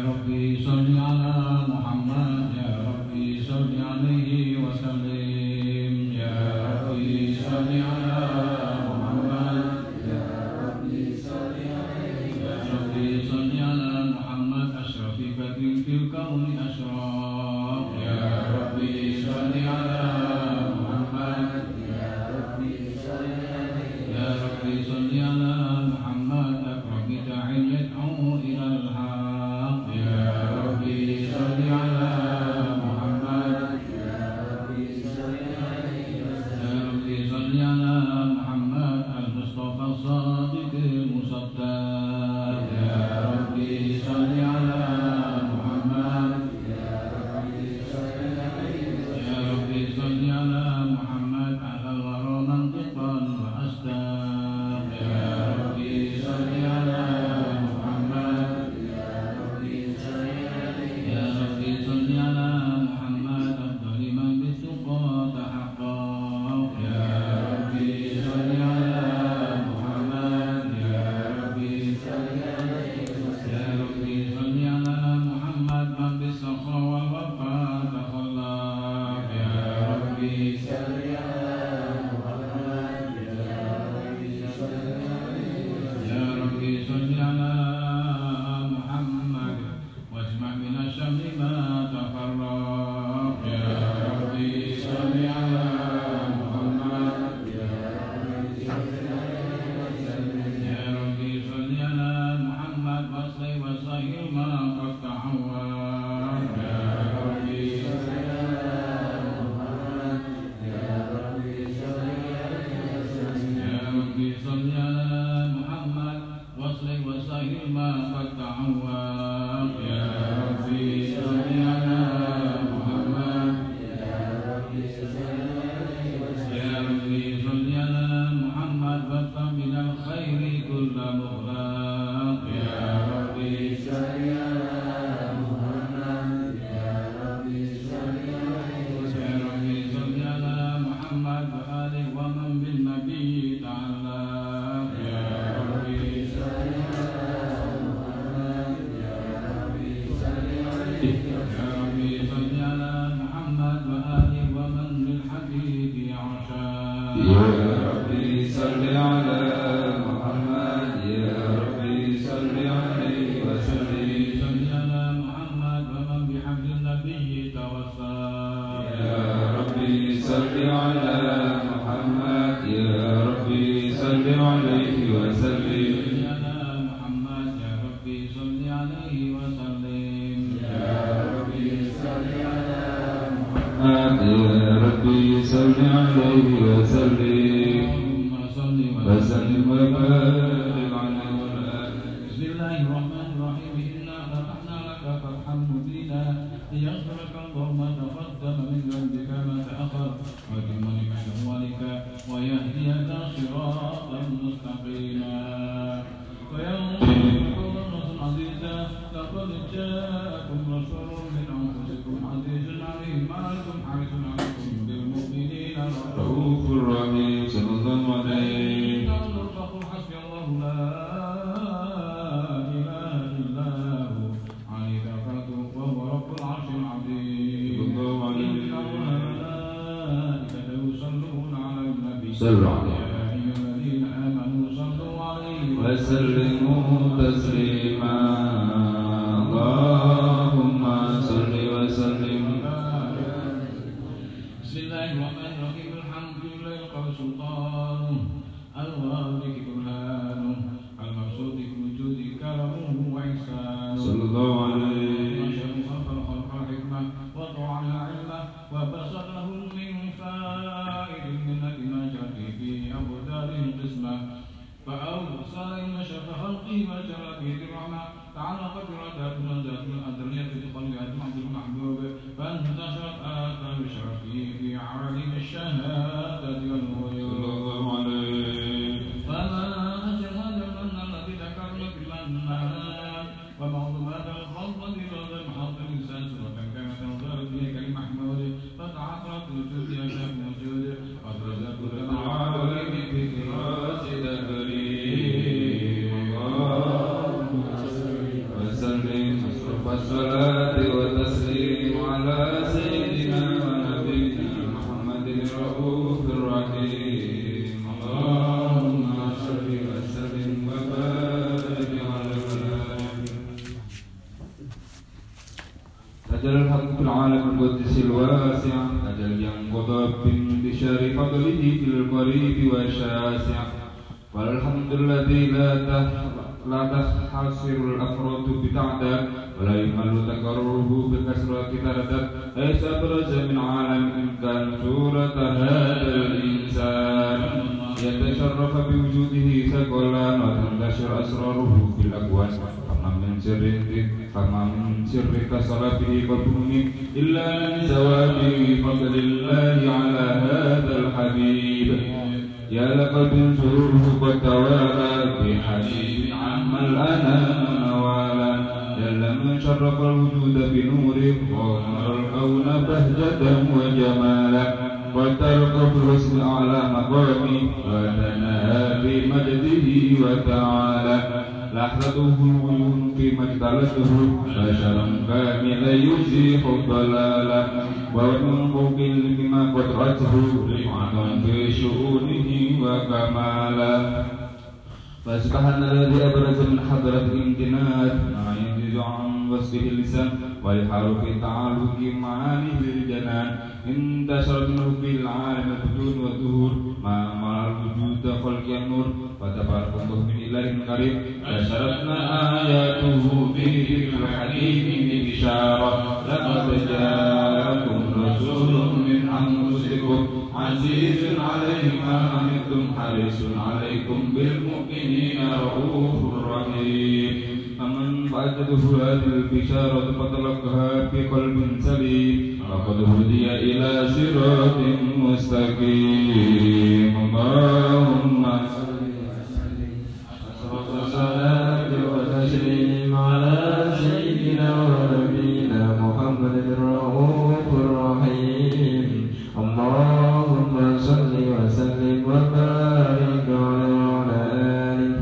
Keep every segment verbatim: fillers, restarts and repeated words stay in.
Rabbi salli ala Muhammad, Ya Rabbi salli alaihi wa sallim, Ya Rabbi salli ala Muhammad, Ya Rabbi salli alaihi wa sallim, Ya Rabbi salli ala Muhammad, asrafi badrin fil kauni asraf, Ya Rabbi salli ala Muhammad, Ya Rabbi salli alaihi, Ya Rabbi salli ala Muhammad, akrami da'in yad'u ila al-haq, Ya Rabbi salli ala Muhammad, Ya Rabbi salli alaihi wa sallam, Ya Rabbi salli ala Muhammad, al-Mustafa as-Sadiq al-Musaddaq, Ya Rabbi salli ala Muhammad, Ya Rabbi salli alaihi wa sallam, Ya Rabbi salli ala Muhammad, al-Wara mantiqan wa asdaq, Ya Rabbi salli ala Muhammad, Ya Rabbi salli alaihi, Ya Rabbi salli ala Muhammad, afdali man bituqa tahaqqaq, Ya Rabbi salli ala Muhammad, Ya Rabbi salli alaihi wa sallam, Ya Rabbi salli ala Muhammad, man bisakha wal wafa takhallaq, Ya Rabbi salli ala Muhammad, Ya Rabbi salli alaihi wa sallam, Ya Rabbi salli ala Muhammad, wajma' min asy-syamli ma tafarraq, Ya Rabbi salli ala Muhammad, Ya Rabbi salli alaihi wa sallam, Ya Rabbi salli ala Muhammad, wasli wa sahil ma qad ta'awwaq, Ya Rabbi salli ala Muhammad, Ya Rabbi salli alaihi wa sallam, Ya Rabbi salli ala Muhammad, wasli wa sahil ma qad ta'awwaq, Ya Rabbi salli ala Muhammad, Ya Rabbi salli alaihi wa sallam, Ya Rabbi salli ala Muhammad, wa min al-khairi kulla mughlaq, Ya Rabbi salli ala Muhammad, Ya Rabbi salli alaihi wa sallam, Ya Rabbi salli ala Muhammad wa alihi wa man bin nabi ta'allaq, Ya Rabbi salli ala Muhammad, Ya Rabbi salli alaihi, Ya Rabbi salli ala Muhammad wa alihi wa man bil habibi ashaq, Ya Rabbi salli ala Muhammad, Ya Rabbi salli alaihi wa sallim, salli ala Muhammad wa man bi hablin nabiyyi tawassal, Ya Rabbi salli ala Muhammad, Ya Rabbi salli alaihi wa sallim, salli ala Muhammad, Ya Rabbi salli alaihi wa sallim, Ya Rabbi salli ala Muhammad, Ya Rabbi salli alaihi wa sallim, Allahumma salli wa wa sallim. sallim wa barik alaihi wa alihi. Bismillahirrahmanirrahim. Inna fatahna laka fathan mubina liyaghfir laka Allahu ma taqaddama min dhanbika ma ta'akhkhar wa yutimma ni'matahu 'alayka wa yahdiyaka siratan mustaqima wa yansuruka nasran 'aziza laqad ja'akum rasulun min anfusikum 'azizun 'alayhi ma 'anittum harisun 'alaykum bil mu'minina Raufur Rahim sallallahu alaihi. فقل حسبي الله لا إله إلا هو عليه توكلت وهو رب العرش العظيم صلى الله عليه إن الله وملائكته يصلون على النبي صلوا عليه. يا أيها الذين آمنوا صلوا عليه وسلموا تسليما اللهم صل وسلم. بسم الله الرحمن الرحيم الحمد لله قال سلطانه الواضح برهانه المبسوط في وجود كرمه وإحسانه صلى الله عليه. وشر خلق الخلق الحكمة وطعن العلم وبسط له من فائد المنة ما جري فيه أجل الحق في العالم القدس الواسع أجل ينقض بانتشار فضله في القريب والشاسع والحمد الذي لا لا تحصر الأفراد بتعداد ولا يمل تكرره بكثرة تردد ليس أبرز من عالم إن كان صورة هذا الإنسان يتشرف بوجوده ثقلا وتنتشر أسراره في الأكوان فما من سر فما من سر كصلابه وبنون إلا من زواج فضل الله على هذا الحبيب يا لقد سروره قد توالى بحبيب عم الأنام نوالا جل من شرف الوجود بنوره ونور الكون بهجة وجمالا وترقى بالحسن أعلى مقامي وتناهى بمجده وتعالى لحظته العيون في مجدلته بشرا كاملا يزيح الضلالا ومن فوق بما قدرته رفعة في شؤونه وكمالا فسبحان الذي أبرز من حضرة الامتنان ما ينجز عن وصفه اللسان ويحار في تعلق معانيه للجنان انتشرت منه في العالم البدون والظهور ما أمر الوجود خلق النور فتبارك الله من إله كريم بشرتنا آياته به الحكيم ببشارة لقد جاءكم رسول من أنفسكم عزيز عليه ما عنتم حريص عليكم بالمؤمنين رؤوف رحيم فمن فاتته هذه البشارة فتلقاها بقلب سليم فقد هدي إلى صراط مستقيم اللهم صلاة وتسليم على سيدنا ونبينا محمد الرؤوف الرحيم اللهم صل وسلم وبارك على آله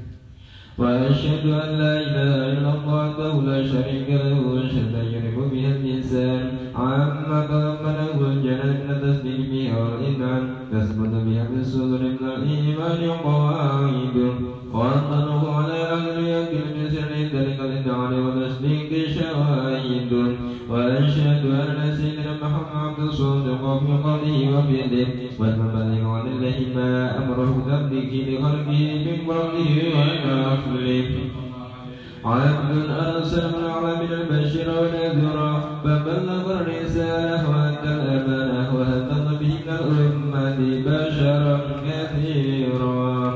وأشهد أن لا إله إلا الله وحده لا شريك له شهادة يعرف بها الإنسان عما تضمنه الجلال من التسليم والإنعام تثبت بها في الصدور من الإيمان قواعد وأنطلق على أهل اليقين من سر ذلك الإدعاء وتصديق شواهد وأشهد أن سيدنا محمد عبد الصادق في قوله وفعله والمبلغ عن الله ما أمره بتبليغه لخلقه من قوله ونفله عبد أرسل من العالمين البشير والنذير فبلغ الرسالة وأدى الأمانة وهدى به الأمة بشرا كثيرا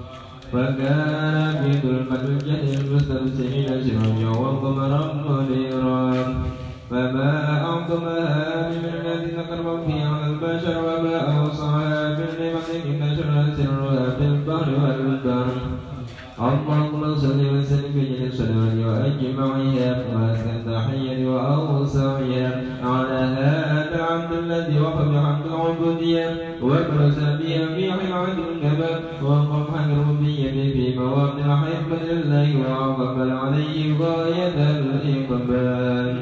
فكان في ظلمة الجهل المستبصرين سراجا وقمرا منيرا فما أعظمها من الذين كرموا فيها على البشر وما أوصاها بالنعمة نشرها سرها في البحر والبر اللهم صل وسلم بجل الصلوات وأجمعها وأسكن تحية وأوصاها على هذا العبد الذي وقف بحمد العبودية وبرز بها في حلعة الكباب وقف حق الربية في مواطن حبة لله وأقبل عليه غاية الإقبال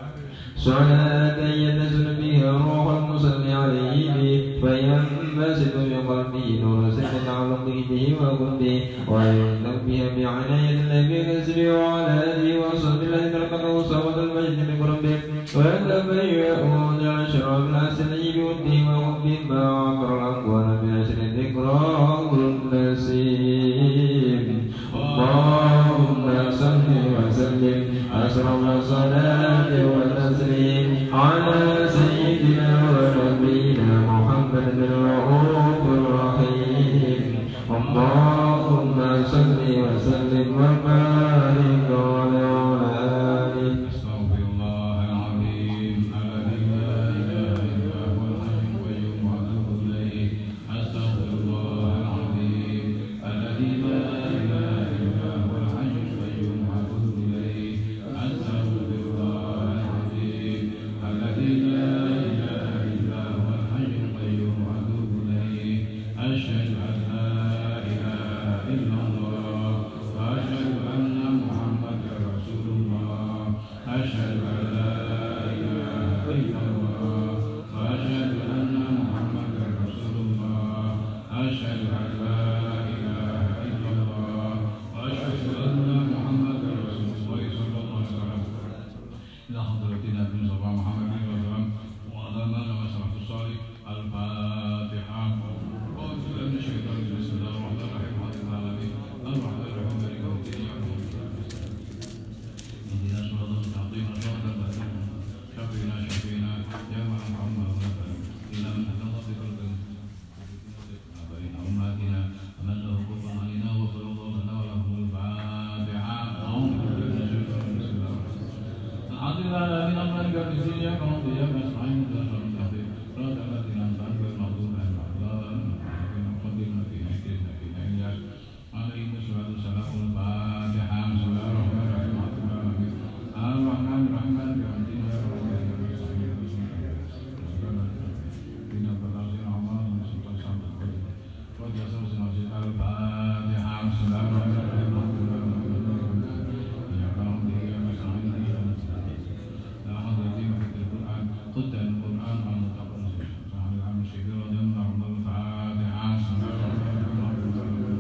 صلاة ينزل بها روح المصلي عليه فينبسط بقلبه نور سكن على قيده وقلبه وينزل بها بعناية النبي نزله وعلى آله وصحبه الذين لقد صوت المجد بقربه ويتبيئون أشرف الحسنين والدين وقبه ما عبر الأقوال بعشر ذكراه النسيم اللهم صل وسلم أشرف الصلاة والتسليم على سيدنا ونبينا محمد الرؤوف الرحيم اللهم صل وسلم وبارك على آله أستغفر الله العظيم الذي لا إله إلا هو الحي القيوم وأتوب إليه أستغفر الله العظيم الذي لا إله إلا هو الحي القيوم وأتوب إليه أستغفر الله العظيم الذي لا إله إلا هو الحي القيوم وأتوب المصطفى محمد صلى الله عليه وسلم وعلى من لما سلف الصالح الفاتحة. أعوذ بالله من الشيطان الرجيم بسم الله الرحمن الرحيم الحمد لله العالمين الرحمن الرحيم مالك يوم الدين اهدنا الصراط المستقيم صراط الذين شفينا شفينا يا محمد إلى من هدى الله بقلب آبائنا أمهاتنا ومن له كفر علينا وغفر الله لنا ولهم الفاتحة. أعوذ بالله من الشيطان الرجيم بسم الله الرحمن الرحيم الحمد لله الذي أمر بأرضه إياك نعبد وإياك نستعين اهدنا الصراط المستقيم صراط الذين أنعمت عليهم غير المغضوب عليهم ولا الضالين عليهم الصلاة والسلام الفاتحة. بسم الله الرحمن الرحيم الرحمن الرحيم مالك يوم الدين إياك نعبد وإياك نستعين اهدنا الصراط المستقيم الفاتحة. بسم الله الرحمن الرحيم إياك نعبد وإياك نستعين لا حول ولا قوة إلا بالله قد القرآن عن متقبل صحيح العام الشهير ودم رحمة الفاتحة. بسم الله الرحمن الرحيم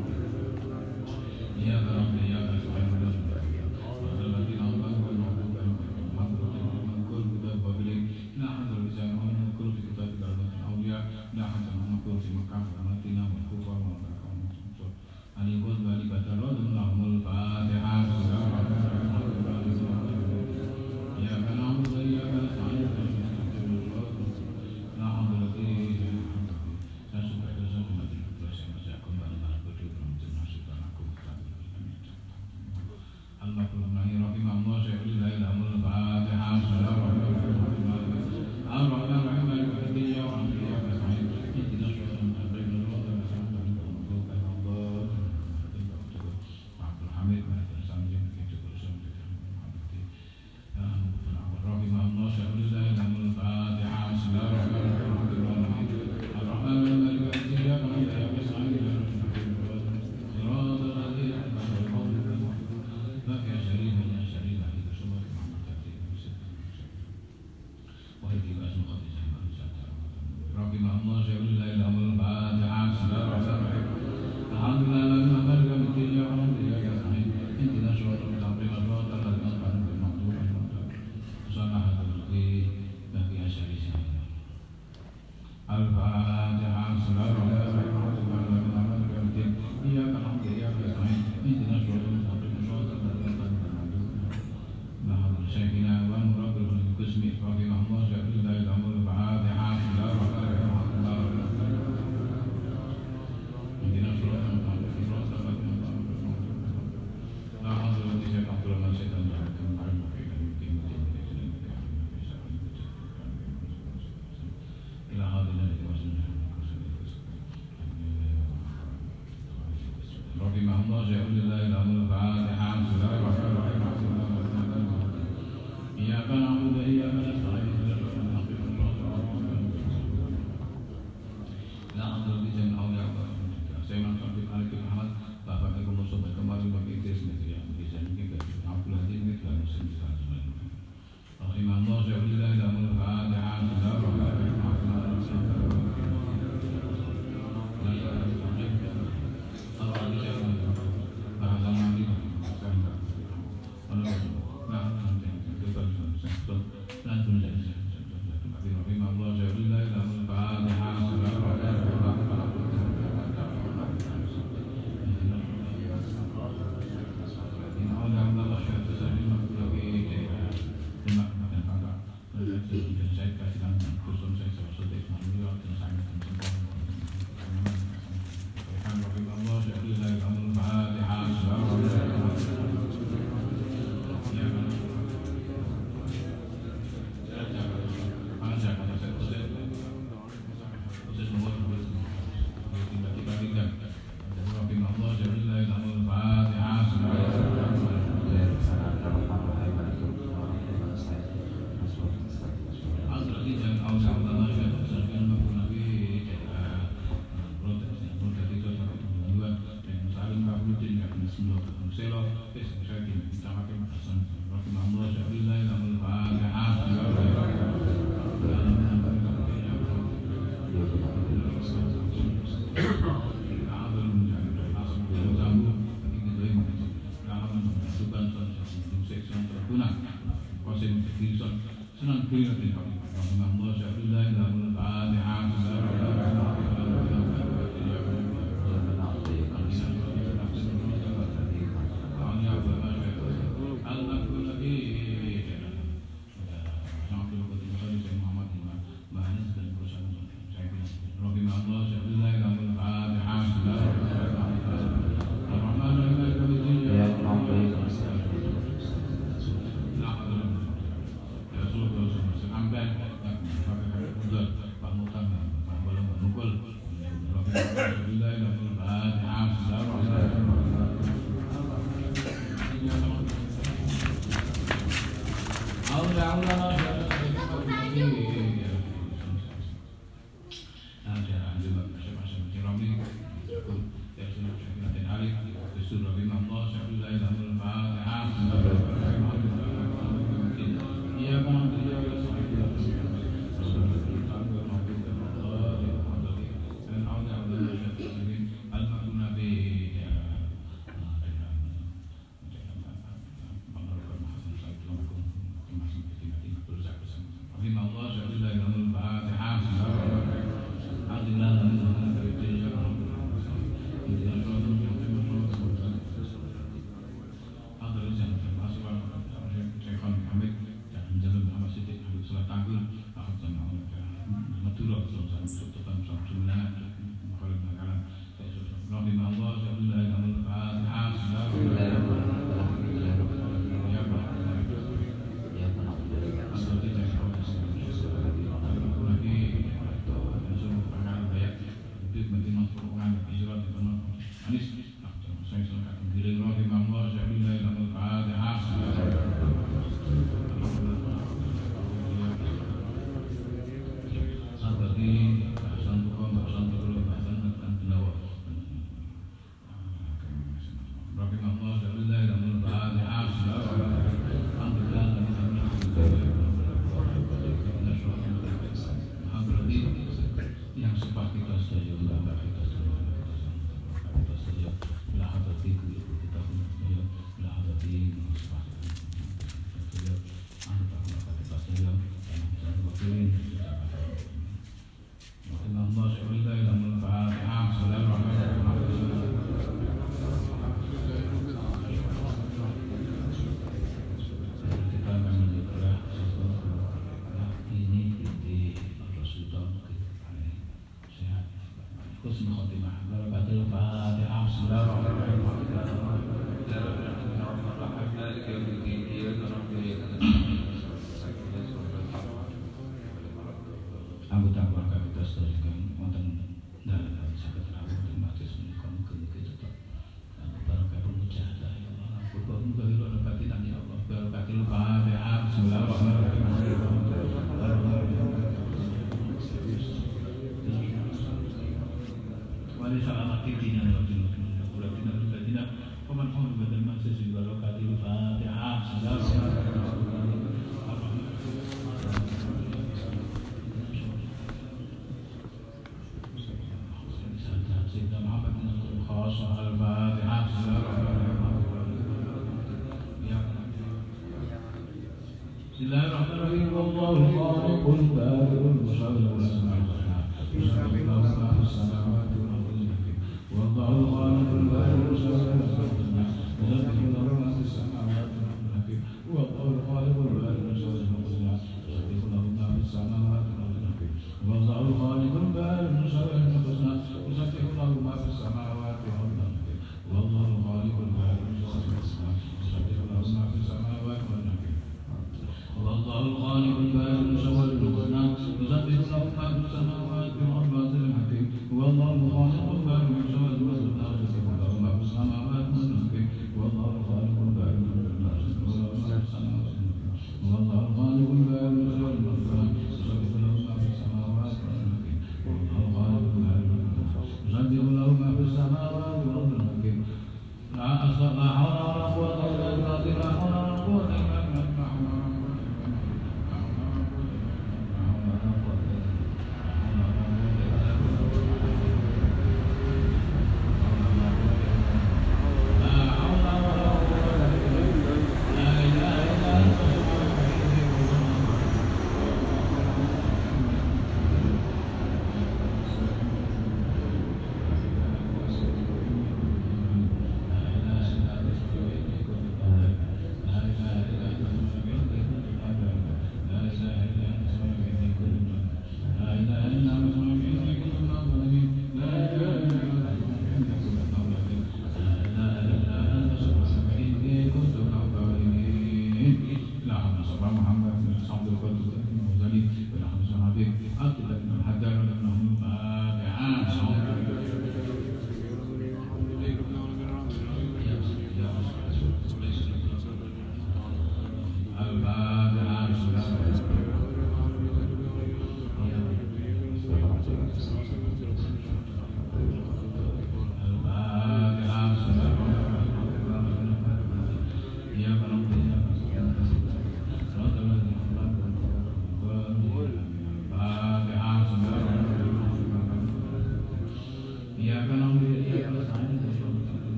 إياك نعبد وإياك نستعين الذين أنعمت المغضوب عليهم المذكور كتاب قبلك لا حد اللسان المذكور في كتاب كرامة الأولياء لا حد المذكور في مكان كرامتنا والكفر والبركة أن يكون ذلك ترد لهم الفاتحة. بسم الله الرحمن الرحيم إياك نعبد وإياك نستعين لا حول ولا قوة إلا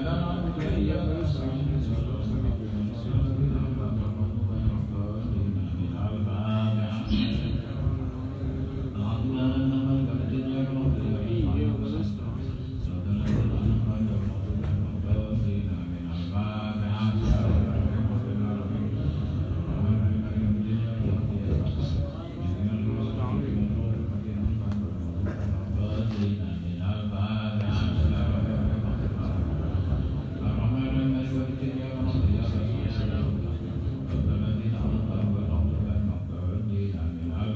Amin.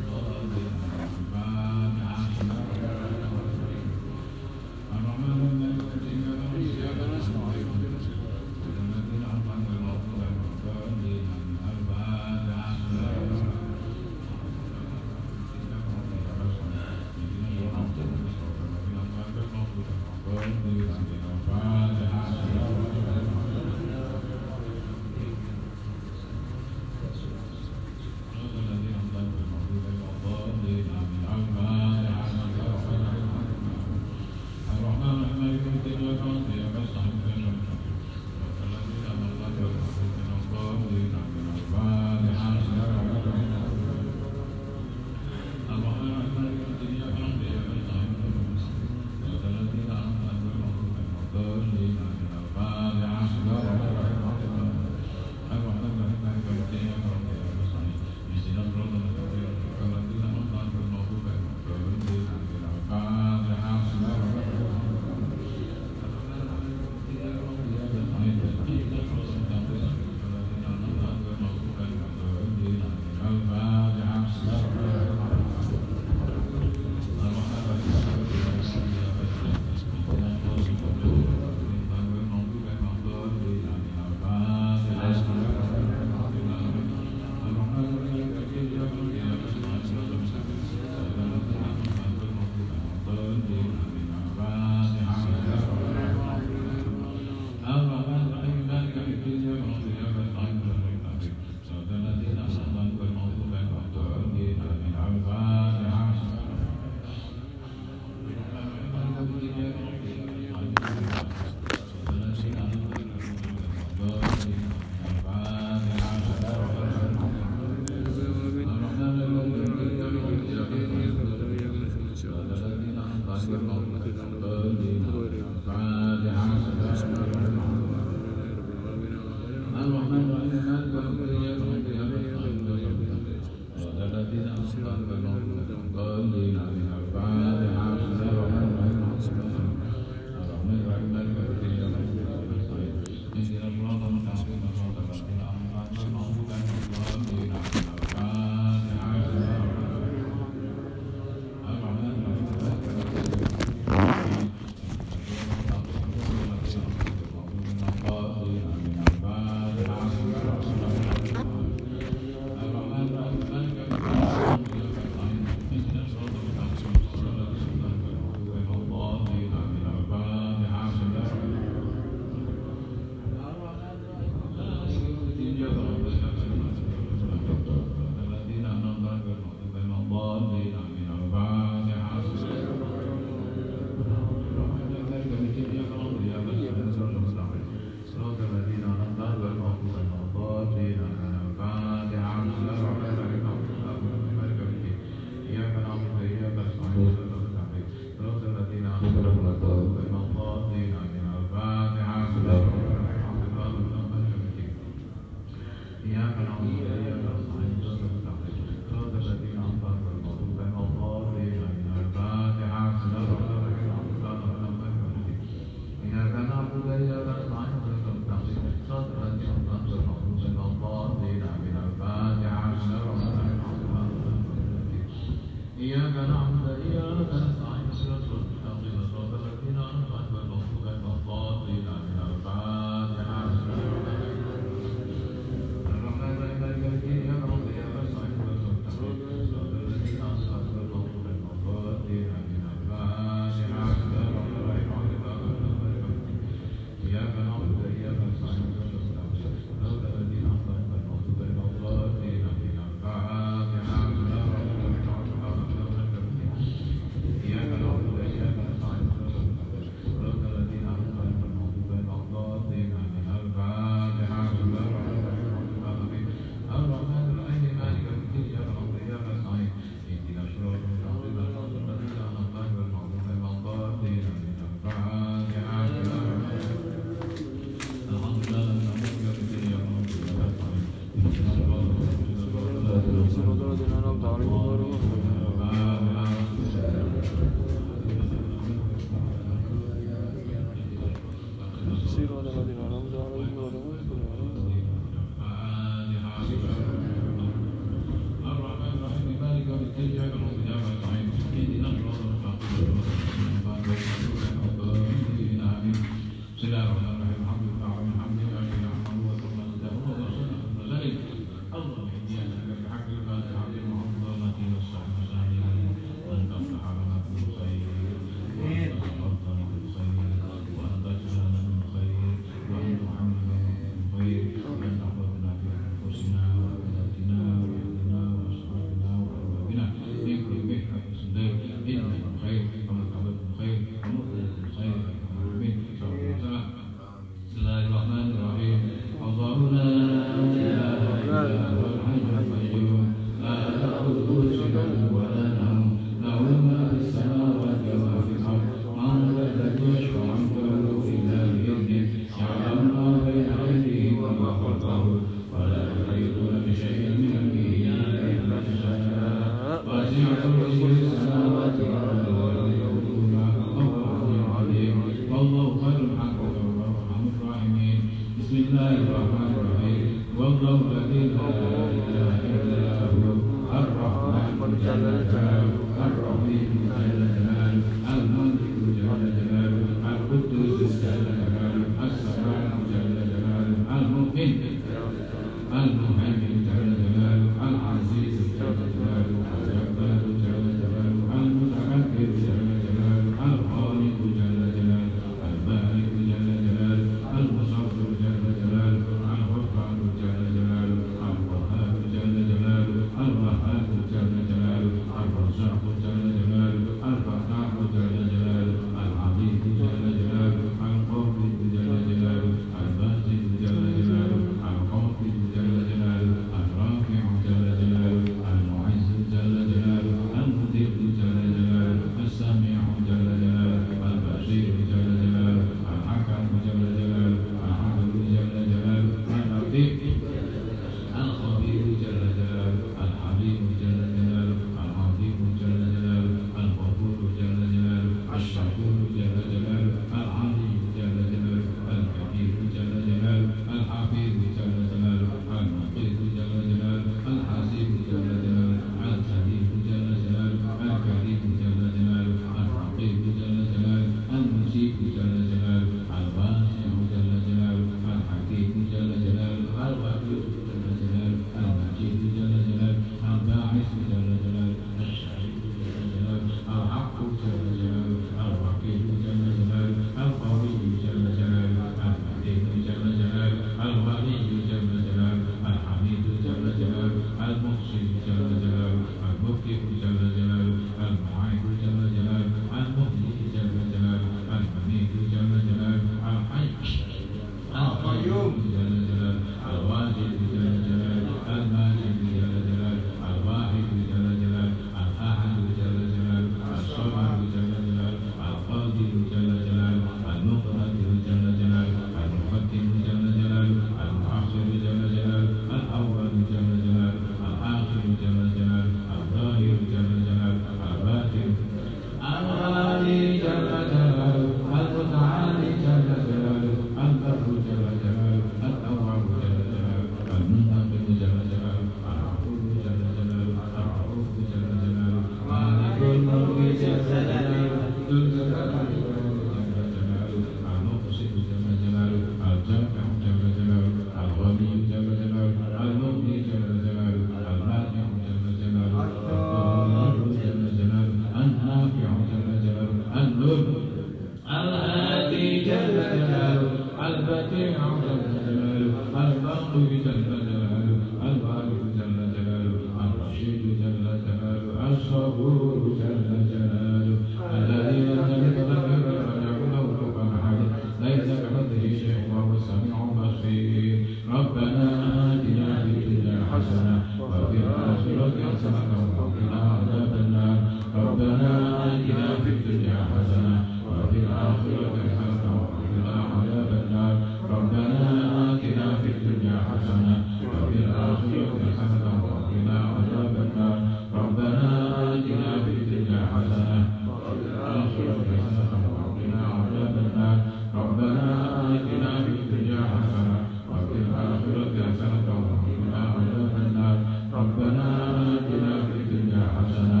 ربنا آتنا في الدنيا حسنة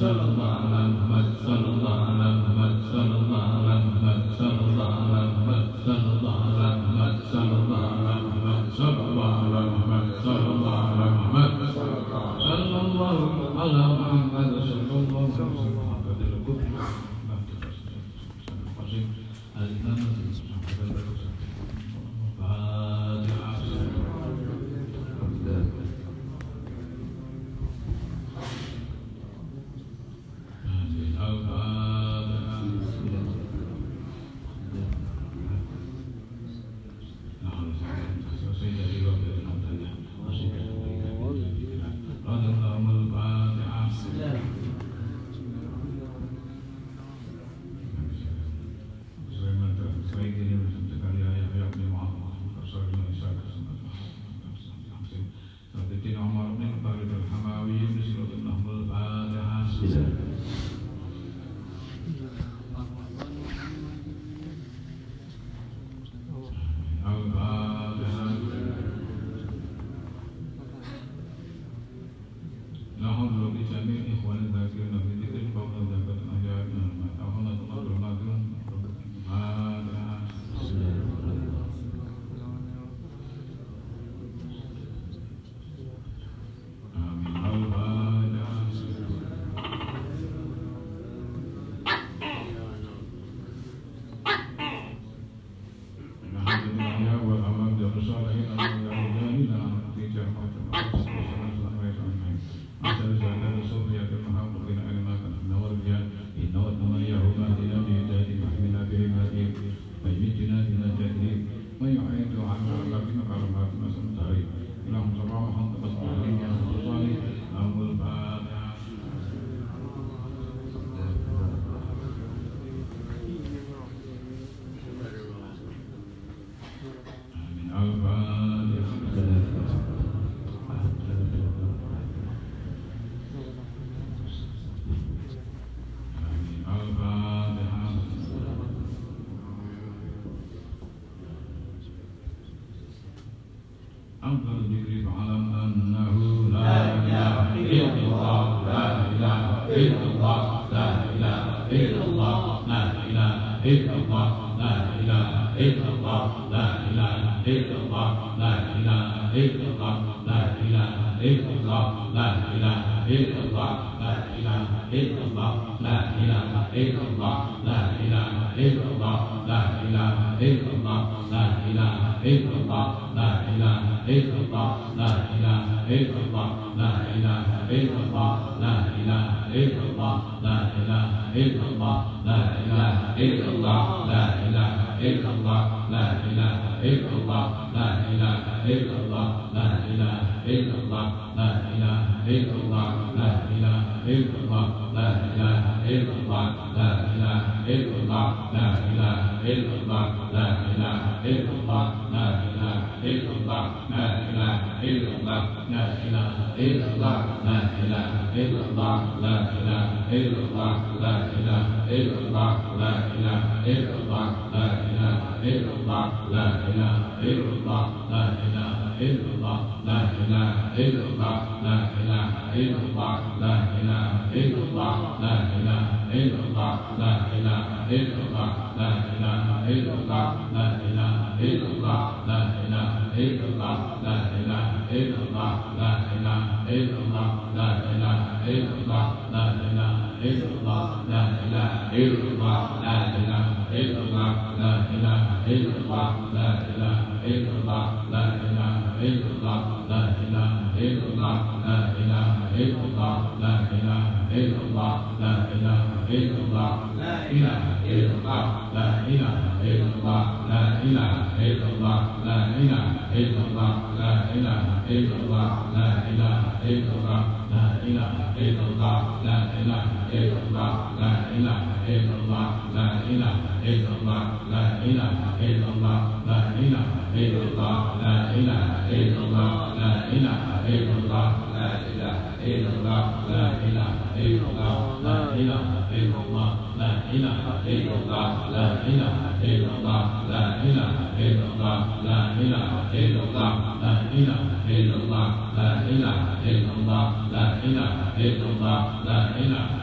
La ilaha illallah, la ilaha illallah, la ilaha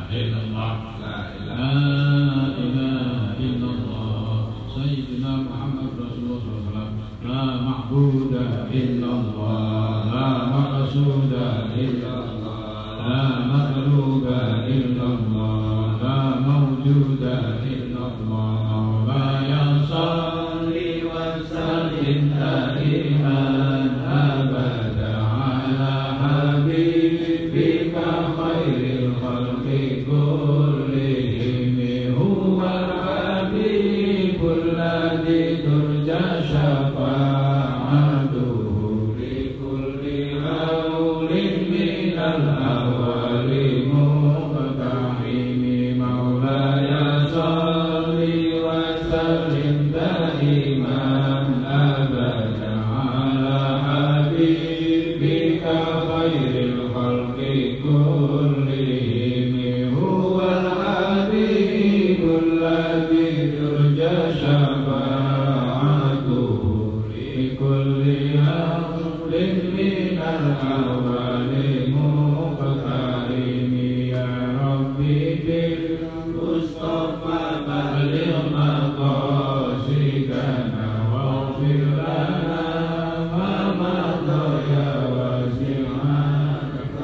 illallah, la ilaha illallah, Sayyidina Muhammad Rasulullah sallallahu alaihi wasallam. La ma'buda illallah, la maqsuda illallah, la maghluba illallah, la mawjuda illallah. Wa ya salli wa sallim daiman abada ala habibika khairil khalqi kullihim. Huwa al-habibul ladzi turja syafa'atuhu li kulli haulin minal awwali muqtahimi. Maulaya salli wa sallim daiman abada ala habibika khairil khalqi kullihim. Huwa al-habibul ladzi turja syafa'atuhu li kulli haulin minal awwali muqtahimi. Ya Rabbi bil Mustafa balligh maqasidana waghfir lana ma madha ya wasi'an.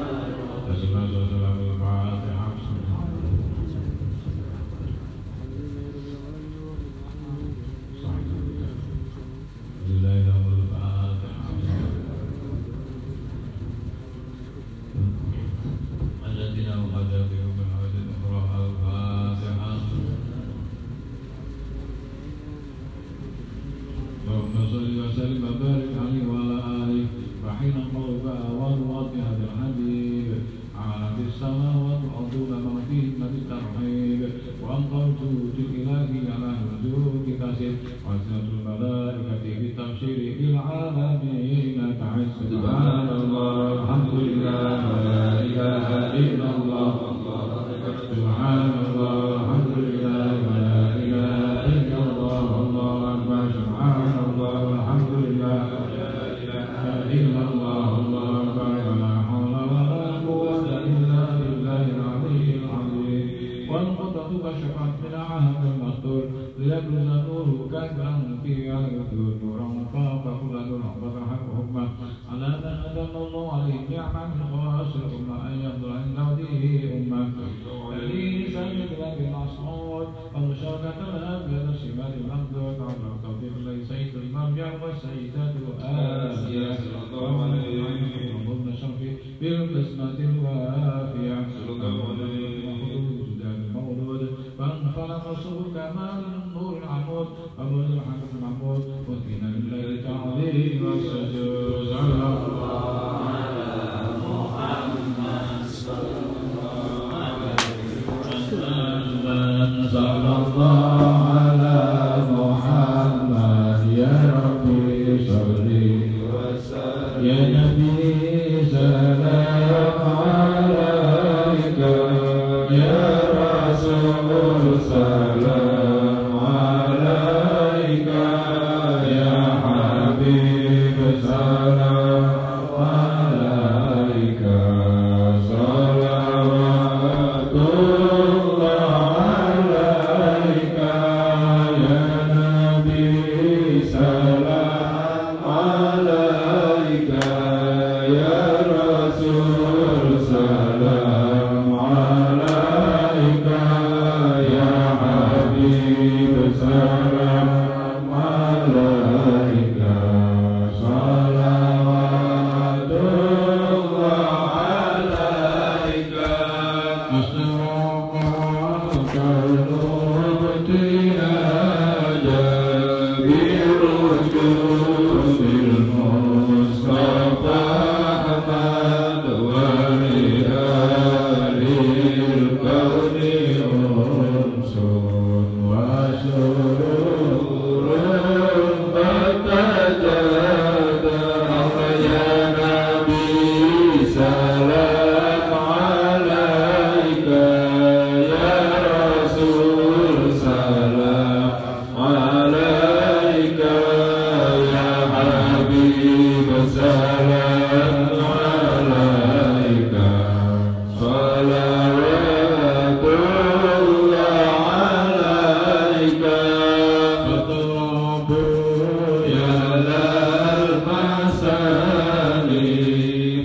اللهم صل وسلم وبارك عليه وعلى آله. فحين قرب وروات هذا الحبيب عالم السماوات والأرض وما فيهن بالترحيب. وأنقرت الإلهي على نزول كاسر وأسنة الملائكة بالتبشير بالعالمين تعز. سبحان الله الحمد لله ولا إله إلا الله. سبحان الله الحمد لله ولا إله إلا الله. الله أكبر. سبحان الله الحمد لله ولا إله إلا الله. الله أكبر. ولا حول ولا قوة إلا بالله العلي العظيم. والقدرة كشفت من عهد المستور ليبرز نوره كذا في الوجود نورا فوق كل نور وفتح حكمه على من أدم الله عليه نعمة من خواص الأمة أن يفضل عند وجهه أمة الذي سجد له المصعود ومشاركة الأبيض سمات المخدود على التوفيق ليسيد المرجع والسيدات الآسية ومن شرفي بالقسمة الوافية فانفلق الصبح كمال النور العمود وبرز الحمد المحمود وكنا لله تعظيم والسجود. صلى الله على محمد صلى الله عليه وسلم. صلى الله على محمد يا ربي صل وسلم. يا نبي سلام عليك يا رسول سلام عليك يا حبيب سلام عليك صلوات الله عليك يا نبي سلام عليك يا رسول سلام عليك يا حبيب سلام عليك صلوات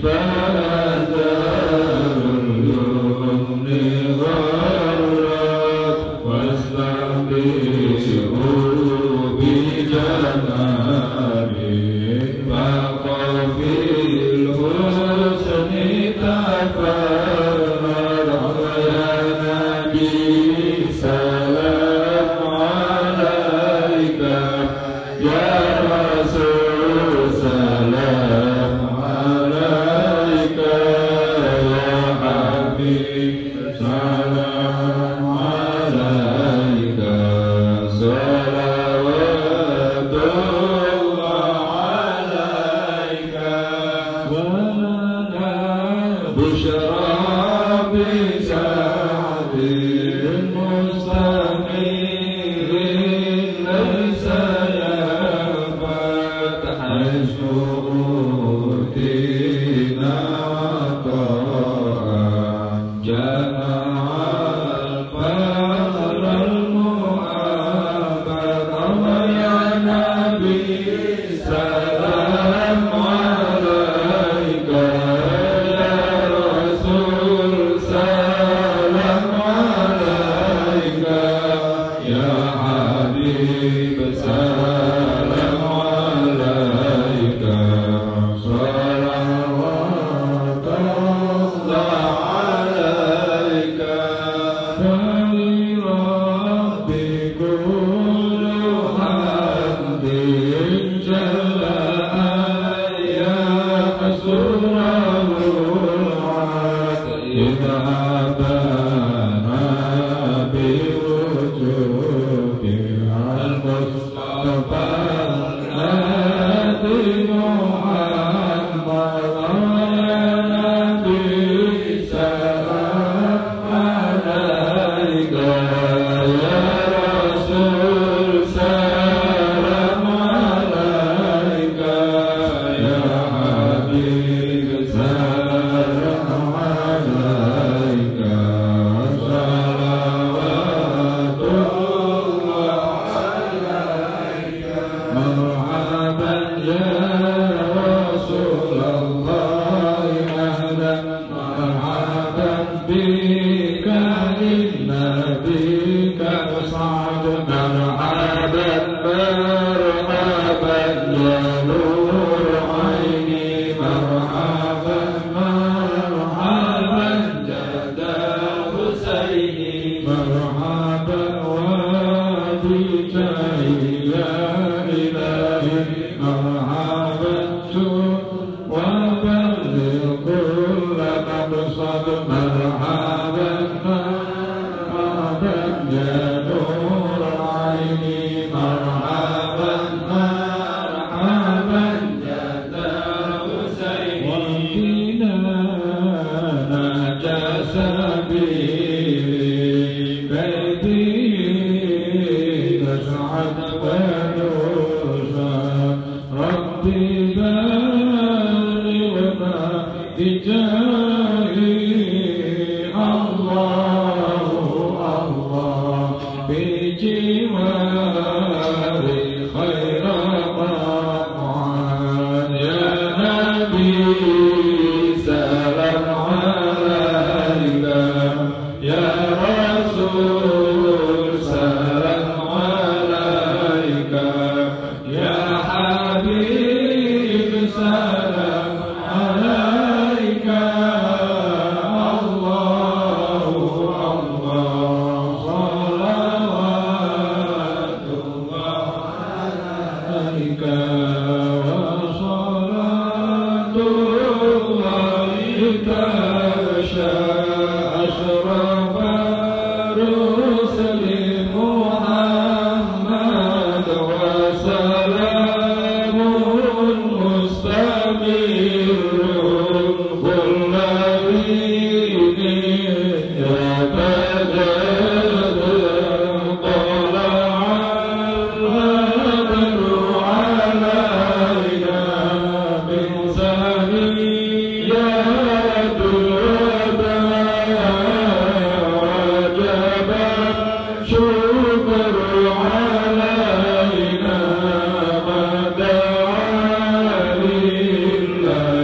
علينا ما دعا لله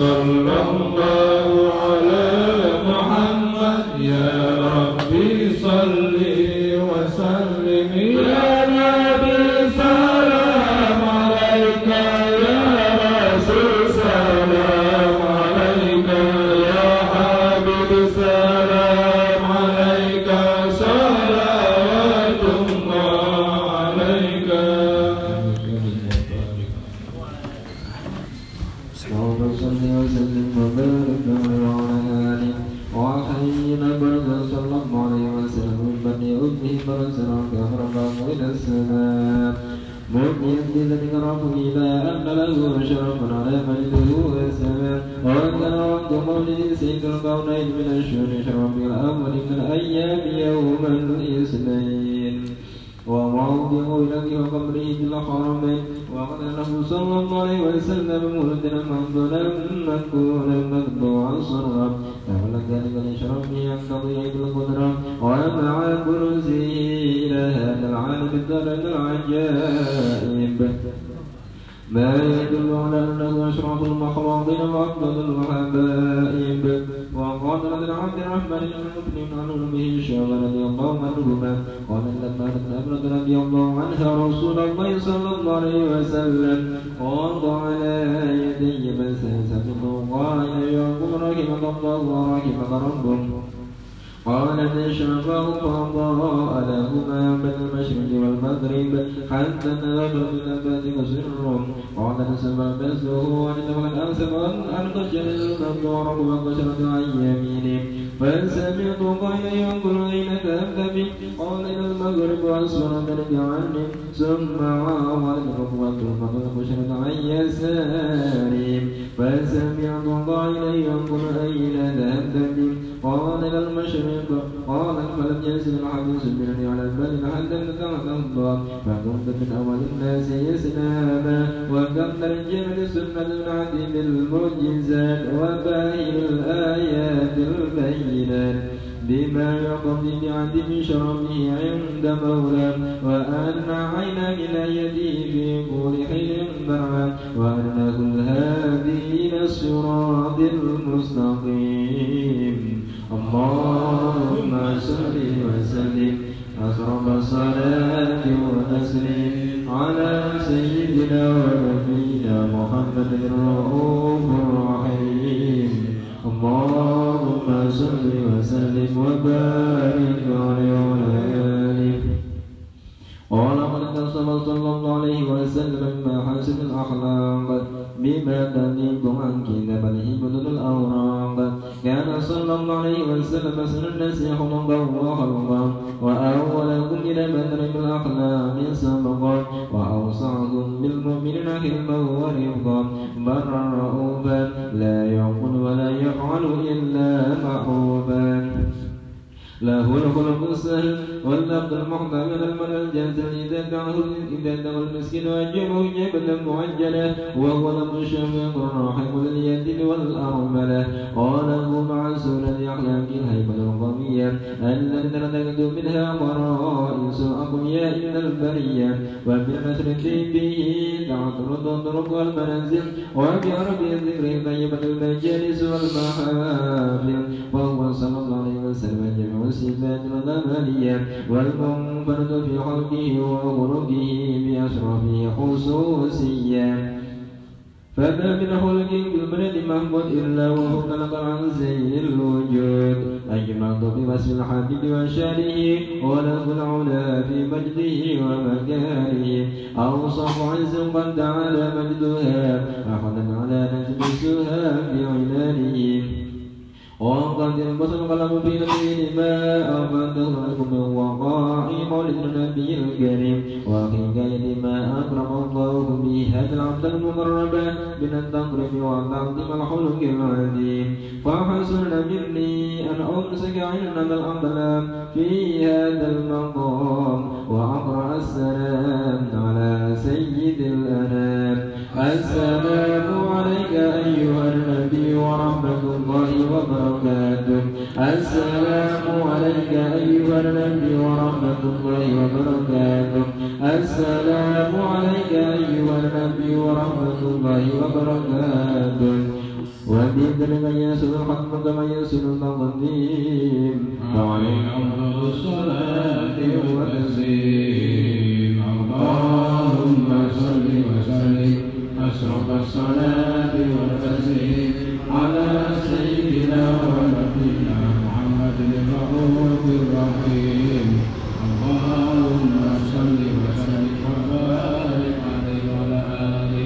صلى الله على محمد يا ربي صل وسلم يا نبي سلام عليك يا رسول سلام عليك يا حبيب سلام عليك صلوات الله عليك اللهم صل وسلم وبارك على آله وحينا برد صلى الله عليه وسلم من بني أمه برسلك ربه إلى السماء مؤمنا بذلك ربه إلى أن له شرفا على مجده والسماء وكان وقت مولد سيد الكونين من الشهر شرف الأول من الأيام يوم الاثنين وموضع لك وقبره في الحرمين وقال له صلى الله عليه وسلم مولدنا مفضلا مذكورا متبوعا صرا فعل ذلك لشرفه يقتضي بالقدرة ومع كرسيه إلى هذا العالم الدرج العجائب ما يدل على أنه أشرف المخلوقين وأفضل الحبائب وقال لنا عبد الرحمن بن مسلم عنه به الشيخ رضي الله عنهما قال لما أمرت رضي الله عنها رسول الله صلى الله عليه وسلم ووضع على يدي فسيسبق قائلا يقول رحمك الله ورحمك ربك قال فشفاه فأضاء لهما بين المشرق والمغرب حتى نظر إلى ذلك سر قال تسمى بأسه وعندما قد أمسك أن قشر المبدور وقشرت عن يمينه فسمعت قائلا يقول أين ذهبت به قال إلى المغرب وأسفر ذلك عني ثم عاود الركوة فقد قشرت عن يساري فسمعت قائلا يقول أين ذهبت به قال إلى المشرق قال فلم يزل الحديث مني على البال حتى ابتدأت الله فكنت من أول الناس إسلاما وكم ترجم لسنة العديد المعجزات وباهر الآيات البينات بما يقضي بعدم شرفه عند مولاه وأن عين ولايته في كل حين برعا وأنه الهادي إلى الصراط المستقيم اللهم صل وسلم أشرف الصلاة والتسليم على سيدنا ونبينا محمد الرؤوف الرحيم اللهم صل وسلم وبارك عليه وعلى آله قال قد صلى الله عليه وسلم ما حسن الأخلاق بما تليق عن كتابه بدل الأوراق كان صلى الله عليه وسلم سن الناس خلقا وخلقا وأولكم إلى بدر بالأخلاق سبقا وأوسعكم بالمؤمنين حلما ورفقا برا رؤوفا لا يعقل ولا يفعل إلا محبوبا له الخلق السهل واللفظ المحتمل المرء الجازل إذا دعه إذا دعا المسكين وأجبه جبلا معجلا وهو لفظ الشفيق الراحم لليد والأرملة قاله مع سورة أخلاق الهيبة القوية التي ترتكز منها فرائس أقوياء من البرية وبالنسر به تعطرد الطرق والمنازل وبعرب الذكر طيبة المجالس والمحافل وهو صلى الله عليه وسلم جميع الصفات الغمالية والمنفرد في خلقه وخلقه بأشرف خصوصية فما من خلق بالبلد محمود إلا وهو خلق عن زين الوجود أجمعت بوصف الحبيب وشانه وله العلا في مجده ومكانه أوصف عز قد تعالى مجدها أخذا على نجلسها في عنانه وقد انبسط القلم في نبيه ما أفاده لكم من وقاع مولد النبي الكريم وحكاية ما أكرم الله به هذا العبد المقرب من التقرب والتعظيم الخلق العظيم فحسن مني أن أمسك عندنا الأقلام في هذا المقام وأقرأ السلام على سيد الأنام السلام عليك أيها النبي ورحمة الله وبركاته السلام عليك أيها النبي ورحمة الله وبركاته السلام عليك أيها النبي ورحمة الله وبركاته والهدي كما يسر الختم كما يسر التقديم وعليك أفضل الصلاة والتسليم اللهم صل وسلم أشرف الصلاة والتسليم على سيدنا ونبينا محمد الرؤوف الرحيم اللهم صل وسلم وبارك عليه وعلى آله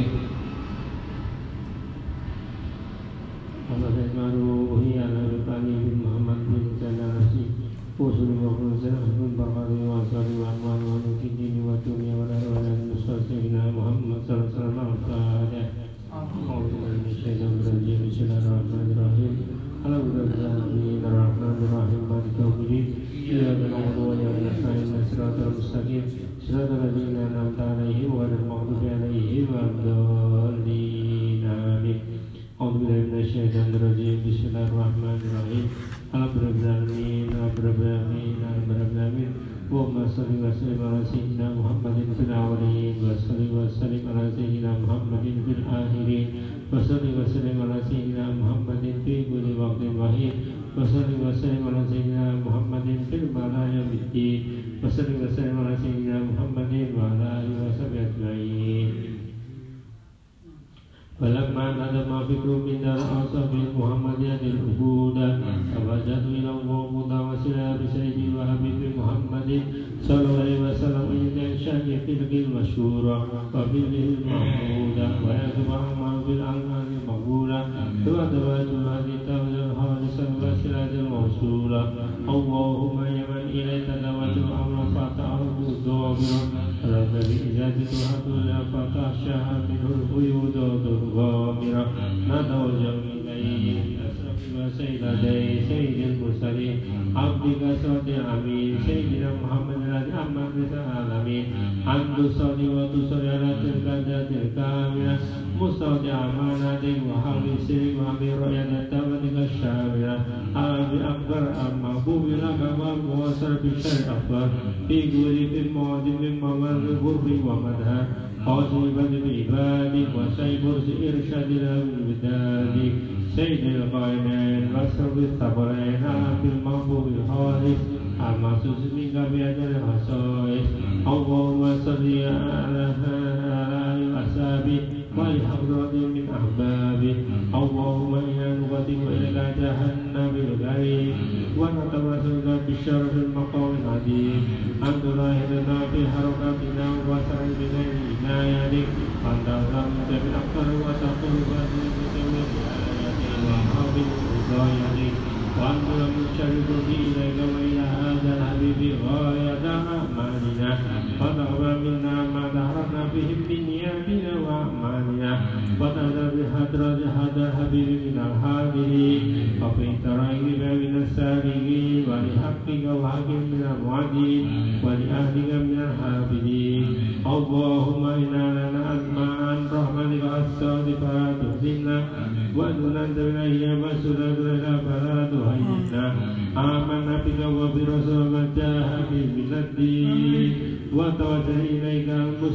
Bismillahirrahmanirrahim. Alhamdulillahirrahmanirrahim. Alhamdulillahirrahmanirrahim. Allahumma salli wa sallim ala sayyidina Muhammadin fil awwalin wa salli wa sallim ala sayyidina Muhammadin fil akhirin wa salli wa sallim ala sayyidina Muhammadin fi kulli waqtin wahid wa salli wa sallim ala sayyidina Muhammadin fil malaya biddin wa salli wa sallim ala sayyidina Muhammadin wa ala alihi wa sahbihi ajma'in. فلما ندم فكر من دار أصحاب محمدية العبودة توجهت إلى الله متوسلا بسيد وحبيب محمد صلى الله عليه وسلم عند إنشاء تلك المشهورة وفعله المحمودة ويكتب أعمال بالأعمال المقبولة وتوجه هذه التوجه الخالصة والسلة الموصولة اللهم يا من إليك دعوت الأمر فتعرف الظاهرة رب بإجابة الحمد فتخشاها منه القيود غامرة نتوجه إليه أشرف وسيدي سيد المرسلين عبدك صادق الأمين سيدنا محمد الذي أمن رسالة العالمين أنت صادق وتصلي على تلك الذات الكاملة مستودع أمانتك وحول سرك وأمير رؤية تامتك الشاملة أعلم بأكبر المحبوب لك ومواصل بالشر أكبر في قول في المواد من ممر الغرب ومدها خاصبا بعبادك وسيف إرشاد الودادك سيد القائنين وسر الثقلين في المحبوب الخالص المخصوص منك بأجل الخصائص اللهم صل على آله وأصحابه ولحضرة من أحبابه اللهم إنا نقدم إليك جهنم بالغريب ونتوسل بالشرف المقام العظيم أن تلاحظنا في حركاتنا وسعي بغير عنايتك أن ترحمك بالأقدار وتقول بأسرك بتوبة آياتك وحافظ هدايتك وأن من شرك إليك وإلى هذا الحبيب غاية أعمالنا فتقبل منا ما ظهرنا به من نياتنا وأعمالنا وتذر بحضرة هذا الحبيب من الحاضرين وفي ترائب من السالكين ولحقك وحق من المعدين ولأهلك من الحافظين اللهم إنا لنا أسماء عن رحمتك الصادق فلا تحزننا وأنت بالأيام والسنة لنا فلا تهينا آمنا بك وبرسولك جاهد من الدين وتوجه إليك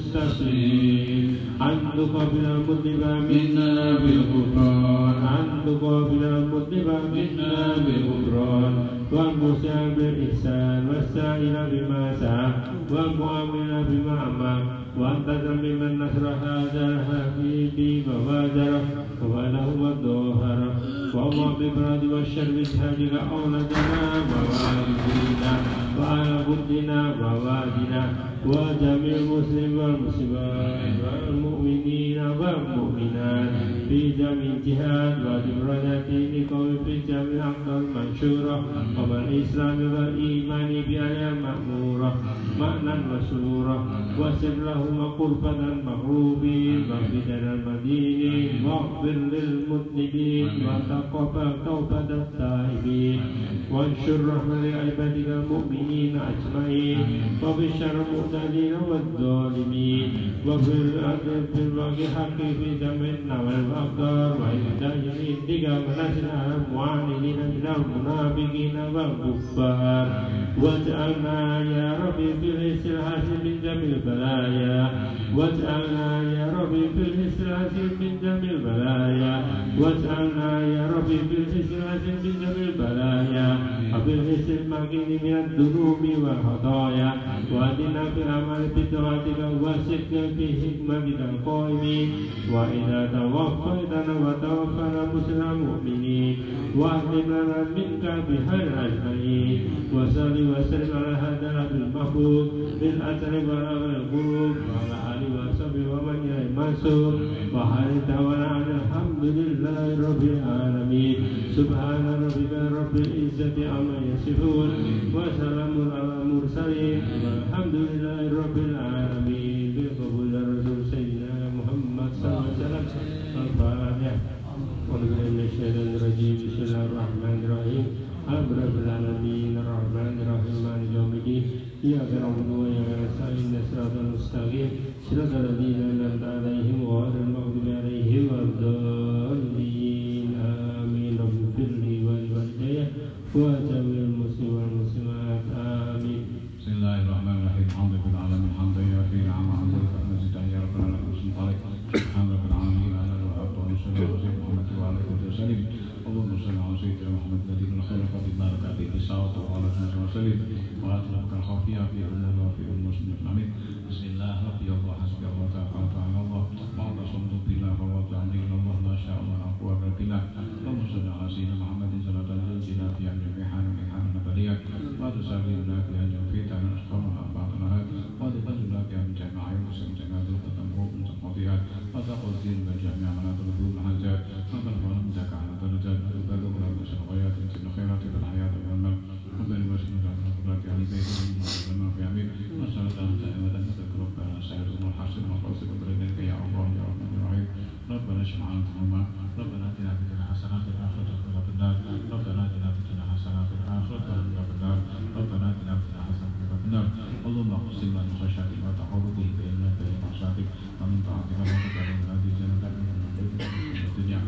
المستقيم أن تقبل المذنب منا بالغفران أن تقبل المذنب منا بالغفران والمسيء بالإحسان والسائل بما سعى والمؤمن بما أمر وأنت ممن نصر هذا الحبيب وواجره وله الظهر وما ببرد والشر بهدك أولادنا ووالدينا وعلى بدنا ووالدنا وجميع المسلمين والمسلمات والمؤمنين والمؤمنات في جميع الجهات ودرجات لقوم في جميع الأقطار المنشورة وبالإسلام والإيمان بآية مأمورة معنى وسرورا وسر لهم قربة المغروبين وفتن المدينين واغفر للمذنبين وتقبل توبة التائبين وانشر رحمة لعبادك المؤمنين أجمعين وبشر المعتدين والظالمين وفي الأرض في الوقت حق في جميعنا والأقدار وإذا جميعك ونسنا المعاندين من المنافقين والكفار واجعلنا يا ربي في الاستراحة من جميع البلايا واجعلنا يا ربي في الاستراحة من جميع البلايا واجعلنا يا ربي بالإخلاص من جميع البلايا وبالاستماكين من الذنوب والخطايا وأهدنا في الأعمال بطاعتك وسدنا في حكمتك القائمين وإذا توفيتنا وتوفنا مسلم مؤمنين وأهدنا لنا منك بخير أجمعين وصل وسلم على هذا النبي المحمود بالأسر والأمر القلوب وعلى آله وصحبه ومن إليه منصور وحال دعوانا الحمد لله رب العالمين سبحان ربك رب العزة عما يصفون وسلام على المرسلين والحمد لله رب العالمين بقبول الرسول سيدنا محمد صلى الله عليه وسلم الفاتحة ونبدأ من الشيطان الرجيم بسم الله الرحمن الرحيم الحمد لله رب العالمين الرحمن الرحيم مالك يوم الدين إياك نعبد وإياك نستعين صراط المستقيم صراط الذين أنعمت عليهم غير المغضوب عليهم ولا الضالين آمين رب اغفر لي ولوالدي وجميع المسلمين والمسلمات آمين. بسم الله الرحمن الرحيم الحمد لله العالمين حمدا يوافي نعمه حمدك مزيدا يا رب العالمين سبحان رب العالمين على الوقت والصلاه والسلام محمد وعلى اله وسلم اللهم صل على سيدنا محمد الذي خلق في بركاته الصلاه وعلى اله وسلم واطلق الخفيه في امور وفي المسلمين امين. بسم الله ربي الله حسبي الله توكلت على الله واعتصمت بالله ووكلت على الله ما شاء الله لا قوه الا بالله. اللهم صل على سيدنا محمد صلاه تنجينا في جميع حال من حال نبليك وتسلمنا في جميع فتن أسقام أنباطنا وتقلنا في جميع يوسف جميع التنبوء من سقطها وتقضي من جميع مناط الذنوب الحاجات وترفعنا من زكاة درجات وتبلغ لنا من الخيرات من الخيرات في الحياة والمال وبين وسلم على قدرات علي بيت وما في عميل وصلاة دائمة تذكر ربنا سائر الحسن والقصد وبرنك يا الله يا رحمن الرحيم. ربنا اشف عنا ذنوبنا ربنا اتنا في الدنيا حسنة وفي الآخرة حسنة وقنا النار ربنا اتنا في الدنيا حسنة وفي الآخرة حسنة وقنا النار ربنا اتنا في الدنيا حسنة وقنا النار. اللهم اقسم لنا من خشيتك ما تحول به بيننا وبين معصيتك ومن طاعتك ما تبلغنا به جنتك من الدنيا.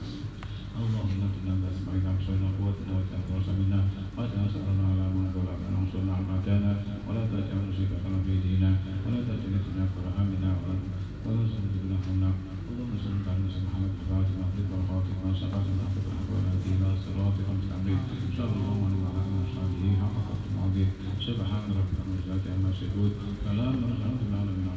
اللهم اغفر لنا بأسمائنا وأبصارنا وقوتنا وتنقص منا وتنصرنا على من ظلمنا وانصرنا على ما كان ولا تجعل مصيبتنا في ديننا ولا تجعل الدنيا أكبر همنا ولا تجعلنا حولنا. اللهم صل على سيدنا محمد الفاتح المغرب والخاتم وسقط الأخذ الحق والهدي إلى صراطك المستقيم صلى الله عليه وعلى آله وصحبه حق قدره العظيم. سبحان ربك رب العزة عما يصفون سلام على العالمين.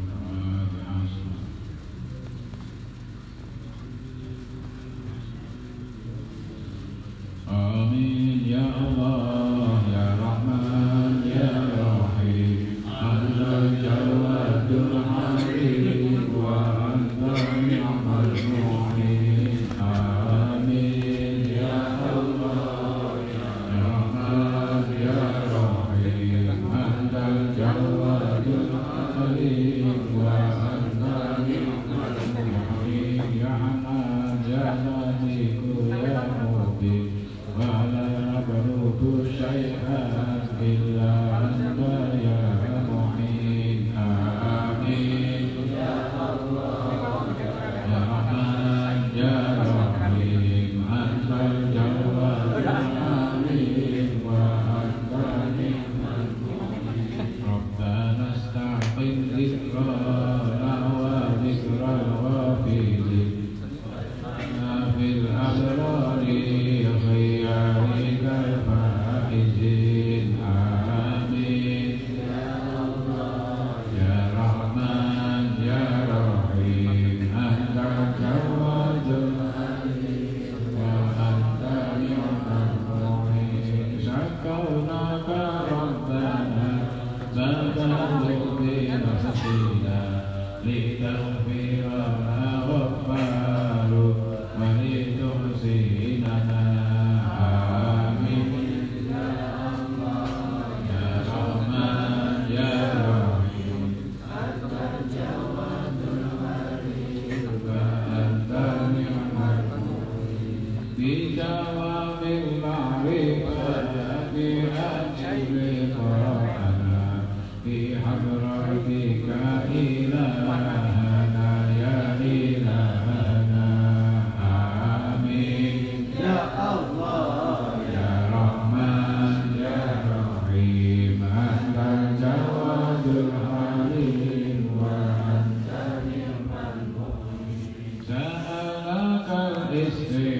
آمين يا الله يا رحمن يا رحيم أنت الجواد الحكيم وأنت نعم المعين. آمين يا الله يا رحمن يا رحيم أنت الجواد الحكيم وأنت نعم المعين. يا حنان يا لطيف يا مبين ولا نبلغ شيئا إلا أنت يا معين. آمين يا الله يا رحمن يا رحيم أنت الجواد الحليم وأنت نعم المعين. ربنا استعقل ذكرانا وذكر الغافلين في الأبرار خيارك الفائزين. آمين يا الله يا رحمن يا رحيم أنت الجواد الحليم وأنت نعم المعين. شكرناك ربنا ما بلغ بنفسنا لتغفر لنا غفار ولتحسننا. آمين يا الله يا رحمن يا رحيم أنت الجواد الحليم وأنت نعم المعين. بدوام المعرفة بأجل لقاءنا في حضرتك إلهنا يا إلهنا. آمين يا الله يا رحمن يا رحيم أنت الجواد الحليم وأنت نعم المعين. سألك الاستغفار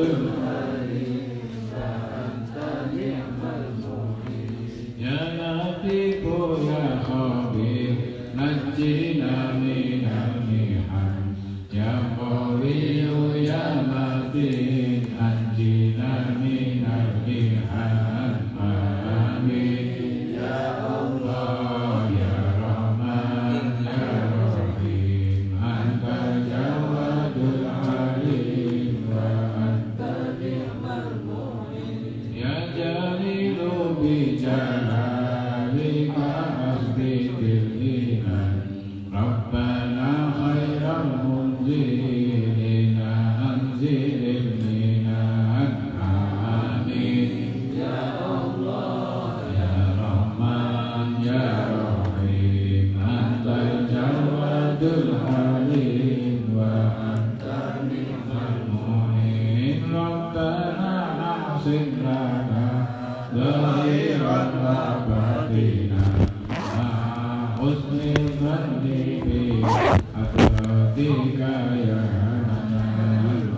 wadul halim wa anta ni'mal mu'in. Ya Latifu ya Khabir najjina minal mihan. Ya Qawiyu ya Matin anjina minal mihan. Amin ya Allah ya Rahman ya Rahim. Anta Jawadul Halim wa anta ni'mal mu'in. Ya Jalilu bi jalalika asbitil iman. Rabbana khairal munzilina anzilil minan. Amin ya Allah ya Rahman ya Rahim. Anta Jawadul Halim wa anta ni'mal mu'in. Rabbana ahsin lana zahiran wa batina husnul zanni bi atratika ya Hanan.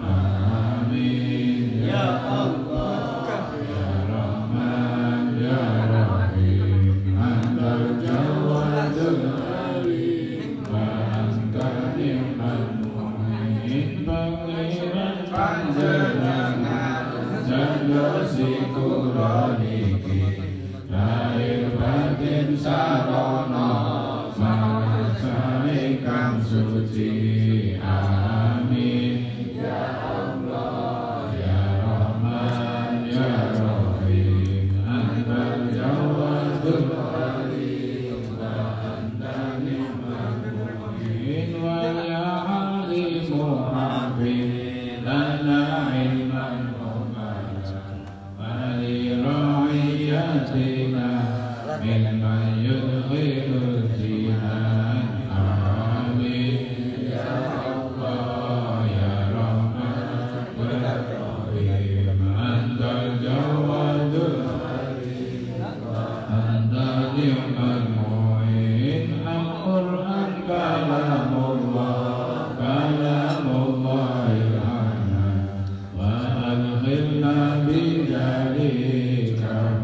Amin ya Allah ya Rahman ya Rahim. Antal Jawadul Halim wa anta ni'mal mu'in. Pangeran panjenengan janda sikuloniki lahir batin sarana manasane kang suci. Amin ya Allah ya Rahman ya Rahim. Antal Jawadul Halim wa anta ni'mal mu'in. Wa ya alimu hafid lana ilman ولرعيتنا ممن يدخل الجنان. آمين يا الله يا رحمن يا رحيم. أنت الجواد الحليم أنت نعم المعين. القرآن كلام الله كلام الله الحنان. وأدخلنا بجليك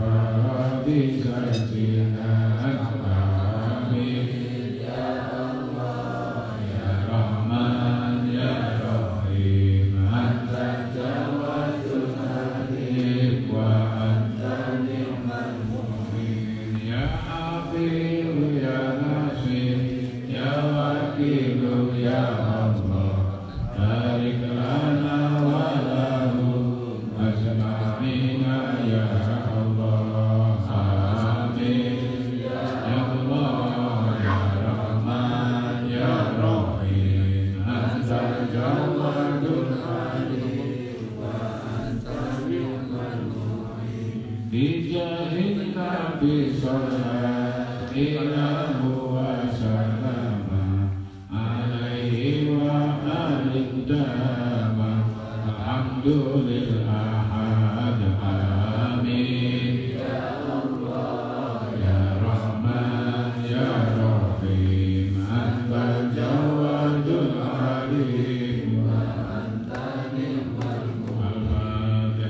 بسجدنا. آمين يا الله يا رحمن يا رحيم. أنت الجواد الحليم وأنت نعم المعين. يا حفيظ يا ناصر يا وكيل يا الله. بارك لنا ولهم أجمعين يا الله. آمين يا الله يا رحمن يا رحيم. أنت الجواد الحليم وأنت نعم المعين. بجاه النبي صلى الله وسلم عليه وآله داما الحمد للأحد. آمين يا الله يا رحمن يا رحيم. أنت الجواد الحليم وأنت نعم المعين.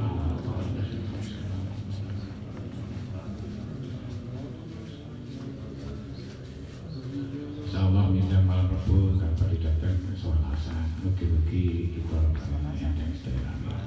Insyaallah minta malam Rabu dapat didatang sholat asar. Mugi-mugi kita yang yang sedaya.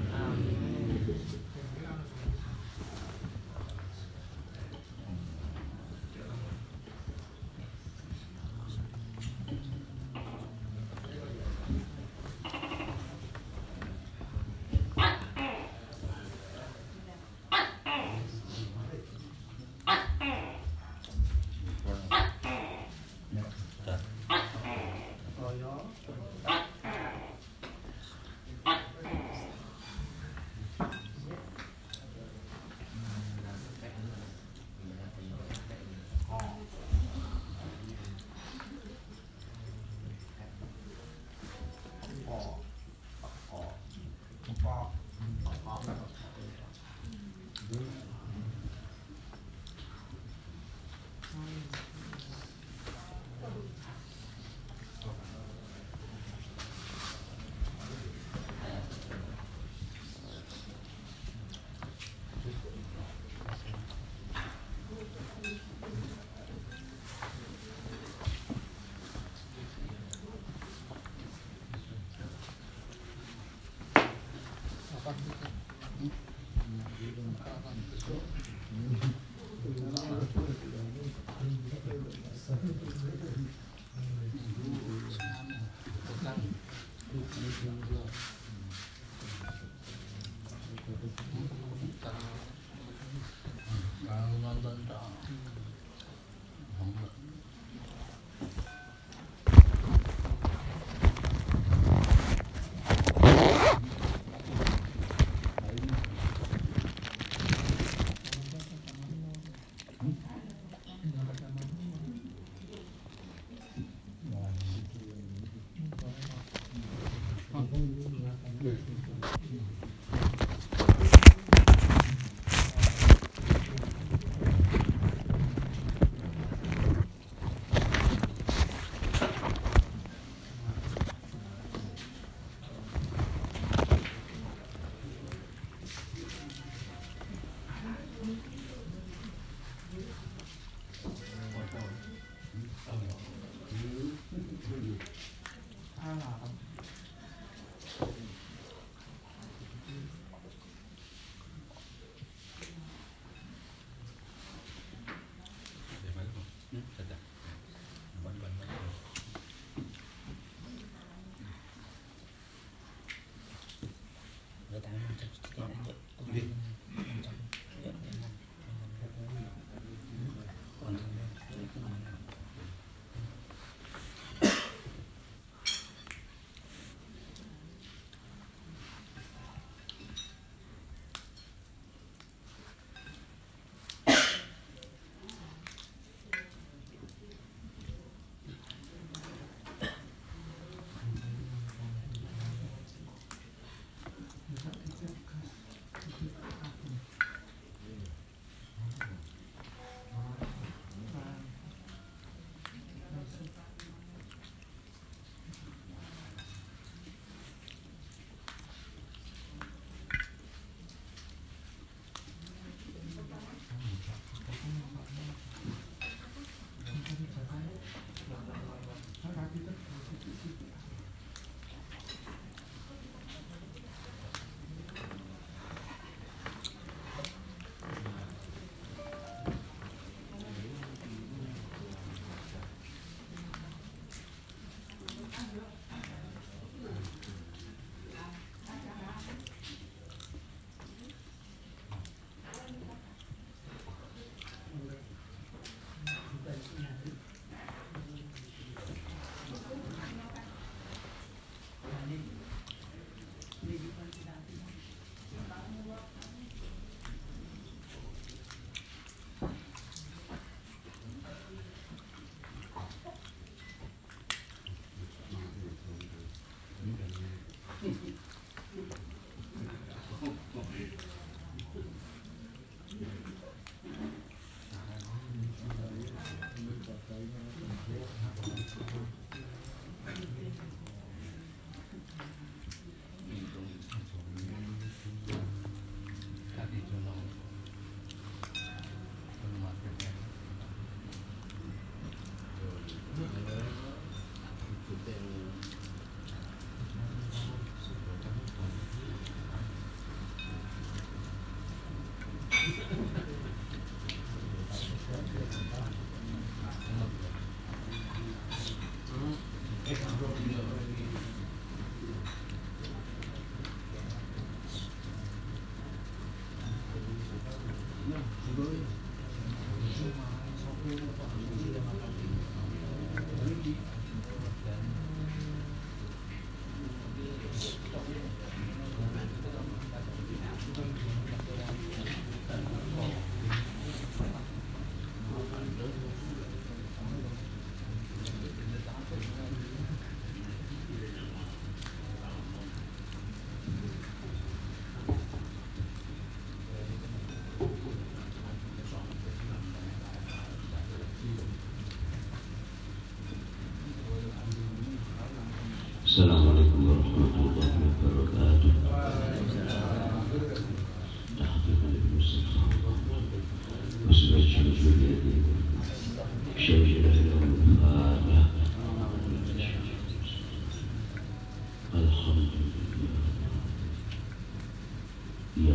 Iya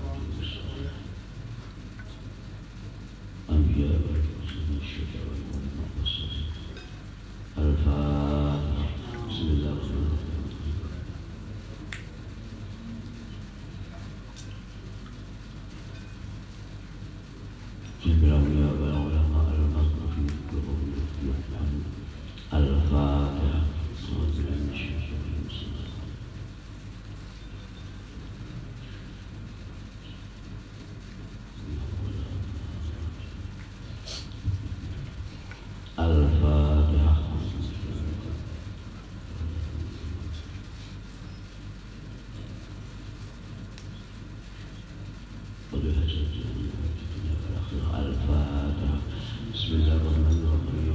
Anbiya Al-Fatihah. Bismillahirrahmanirrahim. Al-Fatihah. Al-Fatihah. Al-Fatihah. Bismillahirrahmanirrahim.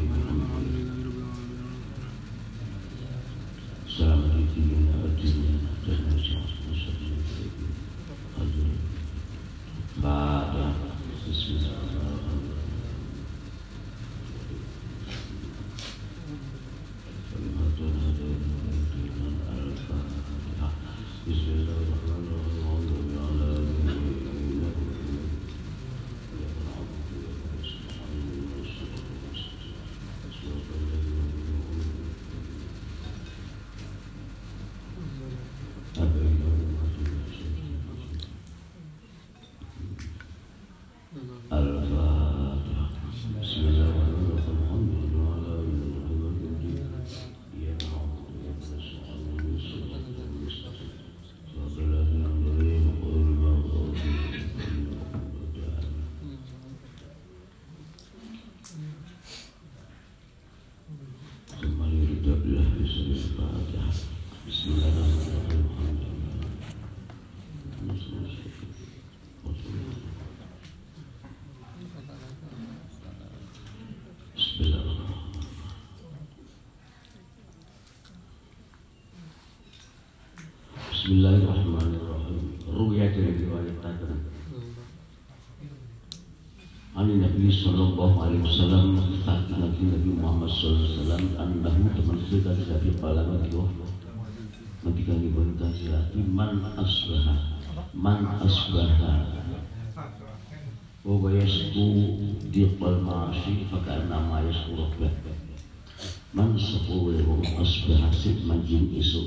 Bismillahirrahmanirrahim. Ruya diriwayatkan Ani Nabi sallallahu alaihi wasallam saat Nabi Nabi Muhammad sallallahu alaihi wasallam annahu teman kita dari palaman itu ketika diberikan silati man asbaha man asbaha wa yasbu diqal ma'asi fakana ma yasbu rabbah man sabu wa asbaha sid manjin isu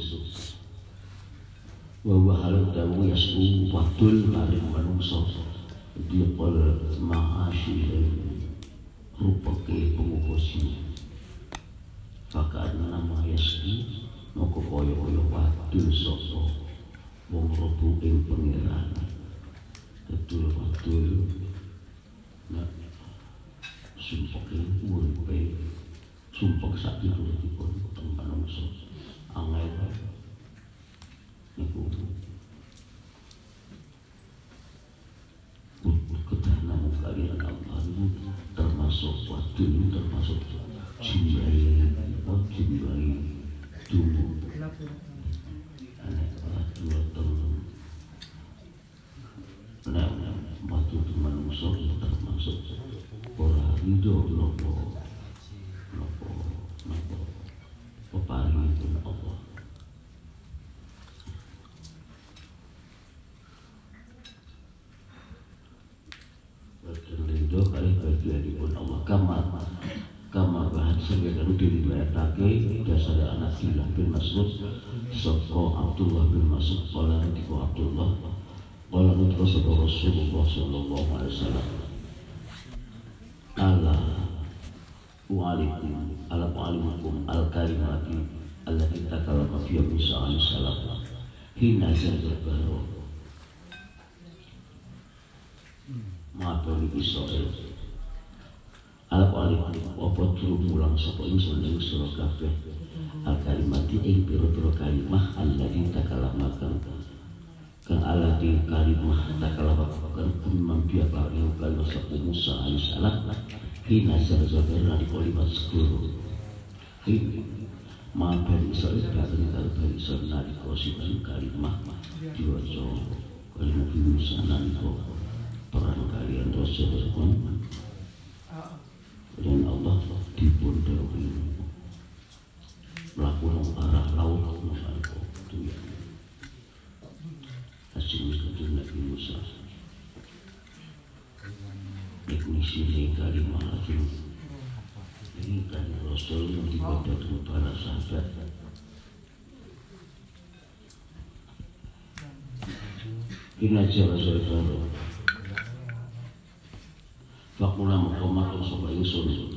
wa wa halal dawu yasbu wadul maring manungsa diqal ma'asi rupake pengukusi fakana ma yasbu moko koyo-koyo wadul sapa wong rebu ing pengiran tetul wadul nek sumpek uripe sumpek sak ditutupipun teng manungsa angel niku kedanan kalian Allah termasuk wadul termasuk jimbai jimbai dulu anak dua tahun anak waktu itu manusia termasuk orang hidup nopo nopo nopo pepari itu Allah berhidup kali bagian di pun Allah kamar kama bahan sebagai diriwayatake dasar anak Abdullah bin Mas'ud saka Abdullah bin Mas'ud qala natiku Abdullah qala natiku Rasulullah sallallahu alaihi wasallam ala wa'alaikum ala wa'alaikum al-kalimati allati takallama fiha Musa alaihi salam hina zalzala ma'atoli Israel Al-Qalikum apa turu mulang sapa ingsun ing sira kabeh al-kalimati ing pira-pira kalimah allati takalamakan kang alati kalimah takalamakan kumman biya ing kalau sapa Musa alaihi salam hina zarzabara di kalimat sekuru hin ma bani Israil kadang kali bani Israil nari kosikan kalimah diwaca kalimat Musa nalika perang kalian Rasulullah dan Allah dipun dawuhi mlaku nang arah laut nang tuyan lajeng kanjeng Nabi Musa Ignisi kalimah lajeng ini kan Rasul yang diberikan para sahabat. Ina jawa saudara. Fakula muqamat sapa ingsun.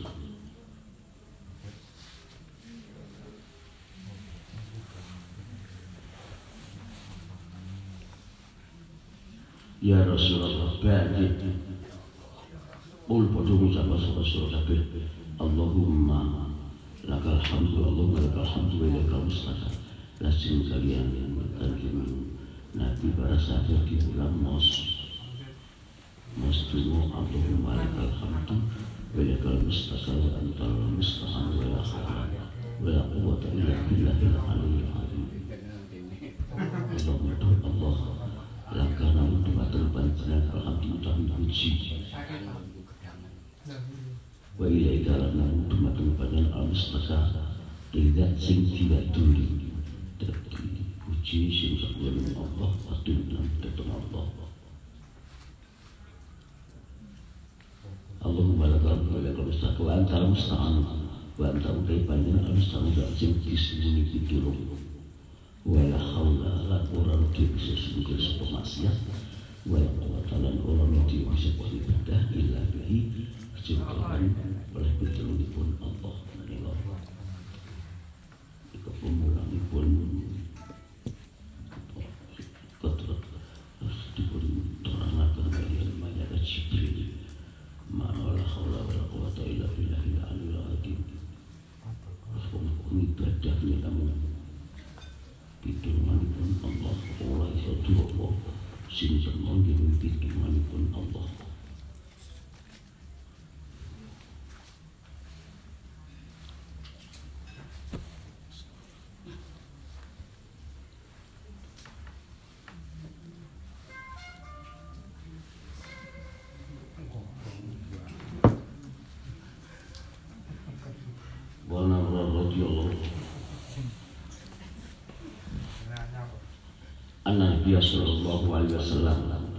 Ya Rasulullah ba'di Qul padha ngucap sapa kabeh Allahumma lakal hamdu Allahumma lakal hamdu wa lakal mustaqim lajeng kalian kanjeng Nabi para sahabat di bulan mos mos dungo Allahumma lakal hamdu wa lakal mustaqim wa antal mustaqim wa la hawla wa la quwwata illa billahil aliyyil azim. Allahumma Allah lakana mutumatul panjenengan alhamdulillah puji wa ilaika lana mutumatul panjenengan al-mustaqim tidak sing diwaduri dadi puji sing sakuwen Allah atun lan tetep Allah. Allahumma lakal wa lakal mustaqim wa antal musta'an wa antal panjenengan al-mustaqim sing disembunyi pitulung wala haula la quran bisa sungguh sepemaksiat wala quwata lan ora mesti bisa ibadah illa bihi kecuali oleh pitulungan Allah menika iku pemulangipun kotor dipun terangaken kaliyan malaikat Jibril ma la haula wala quwata illa billahil aliyyil azim. Ibadah namun pitulunganipun Allah ora iso diapa sing semon dipun pitulunganipun Allah. Wana radhiyallahu anna Nabi sallallahu alaihi wasallam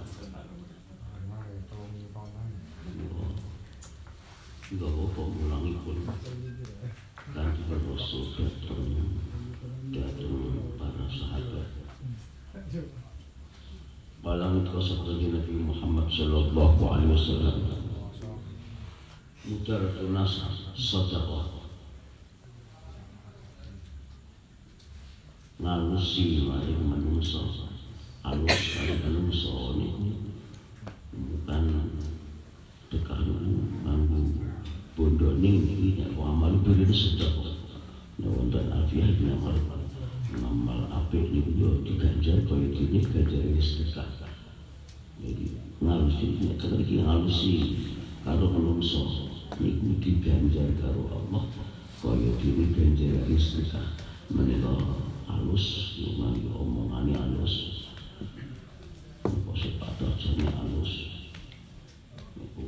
juga bapak mulangipun dan Rasul datang datang para sahabat balang kasabda Nabi Muhammad sallallahu alaihi wasallam mudaratun nas sadaqah ngalusi maring manungsa alus kali manungsa niku bukan tekan nganggo bondone iki nek amal dhewe sedekah nek wonten afiah ngamal ngamal apik niku yo diganjar kaya dene ganjar sedekah. Jadi ngalusi nek kada iki ngalusi karo manungsa niku diganjar karo Allah kaya dene ganjar sedekah menika halus, ngomong omongannya halus, posisi pada jadinya halus. Itu,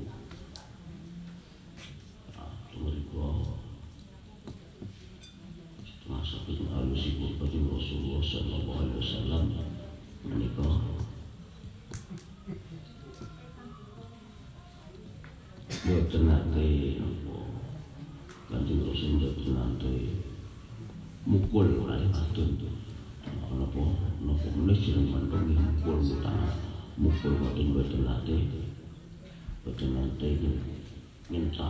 ah, mereka masa itu halus ibu bagi Rasulullah Sallallahu Alaihi Wasallam mereka buat nanti, kanjeng Rasul buat nanti. Mukul oleh atun tu, napa napa menulis yang mandungi mukul utang, mukul batin batin latih, batin latih minta.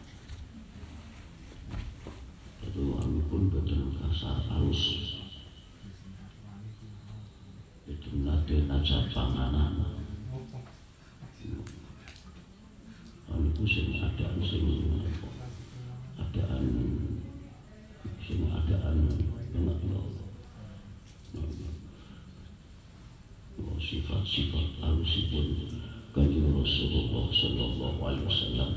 Itu kami pun batin kasar halus, batin latih najat panganan. Kami pun sing adaan sing adaan. Sini adaan enak loh, sifat-sifat halusipun kanjeng Rasulullah Sallallahu Alaihi Wasallam.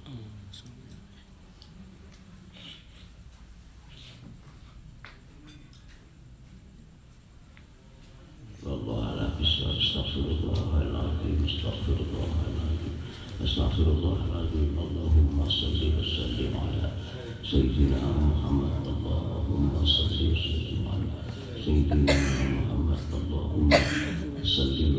Wallahu a'lam bishawab. Astaghfirullahaladzim, astaghfirullahaladzim, astaghfirullahaladzim. Allahumma salli wa sallim ala Sayyidina Muhammad. Allahumma salli wa sallim ala Sayyidina Muhammad. Allahumma salli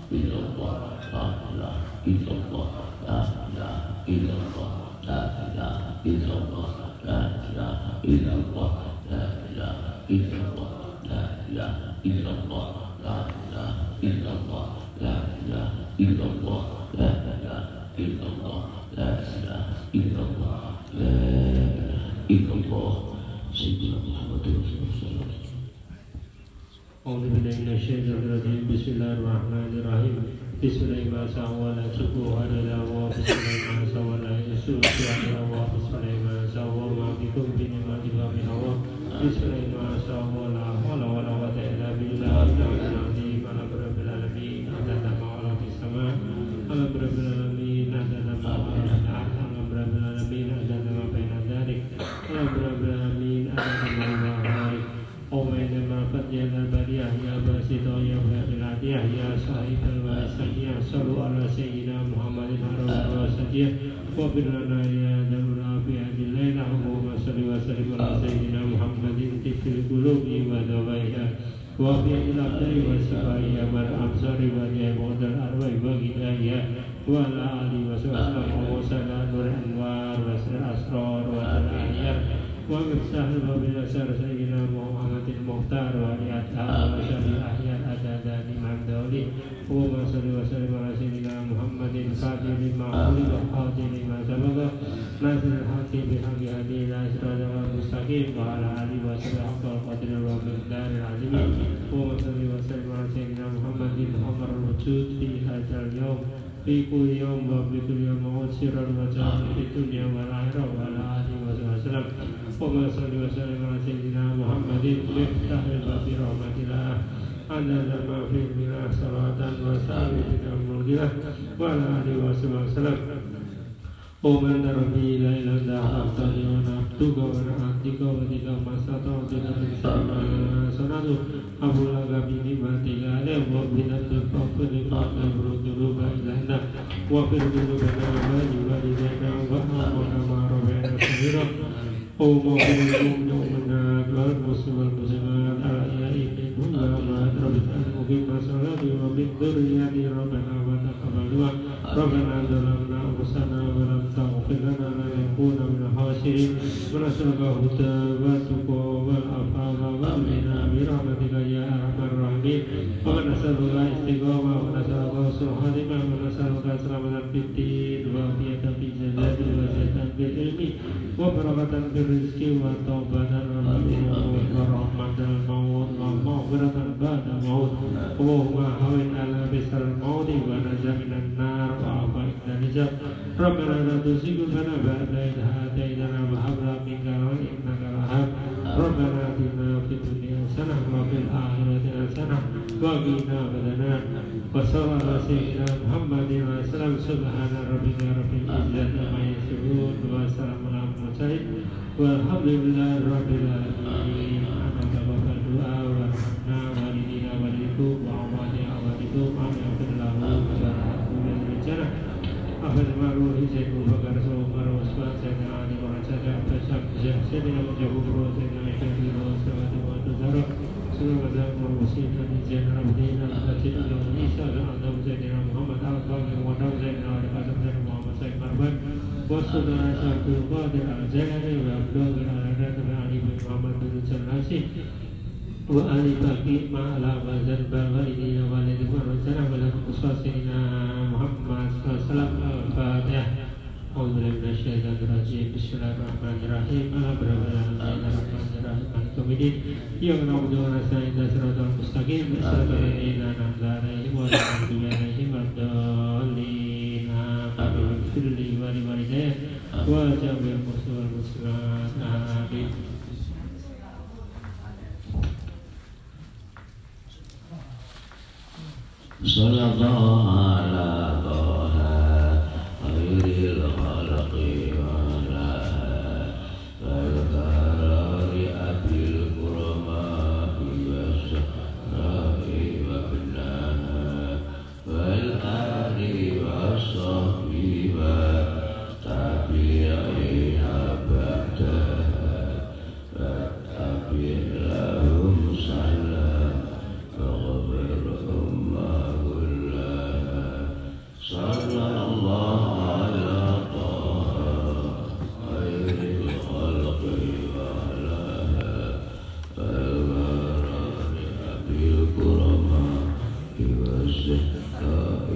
illallah, la ilaha illallah, la ilaha illallah, la ilaha illallah, la ilaha illallah, la ilaha illallah, la ilaha illallah, la ilaha illallah, la ilaha illallah, la ilaha illallah, la ilaha illallah, la ilaha illallah. Sayyidina Muhammadur Rasulullah. A'udzu billahi minasyaitonir rajim. Bismillahirrahmanirrahim. Bismillahirrahmanirrahim. Subhanallah. Bismillahirrahmanirrahim. Subhanallah. Bismillahirrahmanirrahim. Bikum bi ni'mati wa min Allah. Bismillahirrahmanirrahim. La haula wa la quwwata illa billah. Ala rabbil alamin. Adada ma'ala fis sama'. Ala rabbil alamin. Adada ma'ala ala rabbil alamin. Adada ma baina dzalik. Ala rabbil alamin. Adada ma'ala Umayna ma'afat ya al-bariyah ya basita ya biladiyah ya sahib al-wasajiyah sallu ala sayyidina Muhammadin wa sajiyah wa birlana ya dalul afiyah layla Allahumma salli wa sallim ala sayyidina Muhammadin tifil qulubi wa dawaiha wa fi'il abdari wa sifaiya wa al-absari wa jahimudal arwai wa gidayah wa ala alihi wa sallam wa sallam nur anwar wa sir asrar wa al-ahyar wa miftahul babil asar sayyidina Muhammadin muhtar wa li'atha wa syaril ahyar adada liman dawli wa salli wa sallim ala sayyidina Muhammadin fatih lima uli wa fatih lima sabaga nasir hati bihaqi hadi la sirada mustaqim wa ala alihi wa sallam haqqa qadir wa miqdaril azim wa salli wa sallim ala sayyidina Muhammadin amar wujud fi hadzal yawm fi kulli yawm wa fi kulli yawm wa sirran wa jahran fi dunya wal akhirah wa ala alihi wa sallam wa salli wa sallim ala sayyidina Muhammadin miftahil babi rahmatillah adada ma fi milah salatan wa sallim bina mulkilah wa ala alihi wa sallam wa man darbi la ilaha illa anta wa nabduka wa na'atika wa tika masata wa tika bisama sanadu abu lagabi nimatika ala wa binatul fafili fa'la buruduluba ilahna wa firdulubana wa jiwadidana wa amana ma'arabena sahira Oh ma'amulikum yawmanat wal muslimal muslimat al-aya'i minhum wa ma'adrabitan mukim masalati wa biduriyati rabbana wa taqabaluwa rabbana zalamna usana wa lam ta'ufir lana lanakuna minal khasirin wa nasalaka huda wa tuqa wal afawa wa amina birahmatika ya arhamar rahimin wa nasalaka istiqamah wa nasalaka husnul khatimah wa nasalaka selamatan fid din wa afiyatan fil jasad wa zatan bil ilmi wa barakatan fil rizki wa taubatan wa rahmatan maut wa maghfiratan ba'da maut Allahumma hawin ala bisal mauti wa najabinan nar wa afaik dan hijab Rabbana la tuzigh qulubana ba'da idh hadaytana wa hab lana min ladunka innaka wahhab Rabbana atina fid dunya hasanah wa fil akhirati hasanah wa qina adzabannar wa sallallahu ala sayyidina Muhammadin wa sallam subhana rabbika rabbil izzati amma yasifun wa salamun alal mursalin walhamdulillahi rabbil alamin. Anak bapak doa wa rahmatna walidina walikum wa amwati awadikum amin lahu wa barakatum bil rijana afal maru hizaikum bakar sumar waswa sayyidina ali wa rasulullah tasab sayyidina mujahid wa sayyidina syahid wa sallallahu wa tuzara sallallahu wa muslimin hizaikum rabbina al-fatih al-isa al-adam sayyidina Muhammad al-baqi wa sayyidina ali sayyidina Muhammad sayyid marban Wassalam Abdul Qadir al-Jalani wa Abdul Qadir al-Ali bin Muhammad bin Jalasi wa Ali Baqi ma'ala wa zanbal walidina walidina wa rajana wa lakum uswasina Muhammad sallallahu al-Fatihah A'udzubillahi minasyaitonir rajim Bismillahirrahmanirrahim Alhamdulillahirrahmanirrahim Al-Kamidin Ya na'udzu wa nasta'in siratal mustaqim siratal ladzina an'amta 'alaihim ghairil maghdubi 'alaihim waladdallin amin Firli wa liwalidayya wa jami'il muslimin wal muslimat amin Sallallahu ala Taha khairil khalqi wa ala al-karari abil kurma wa sahra'i wa benaha wal ari wa sahbi wa tabi'i abadaha wa tabi'i lahum salam wa ghafirhum ma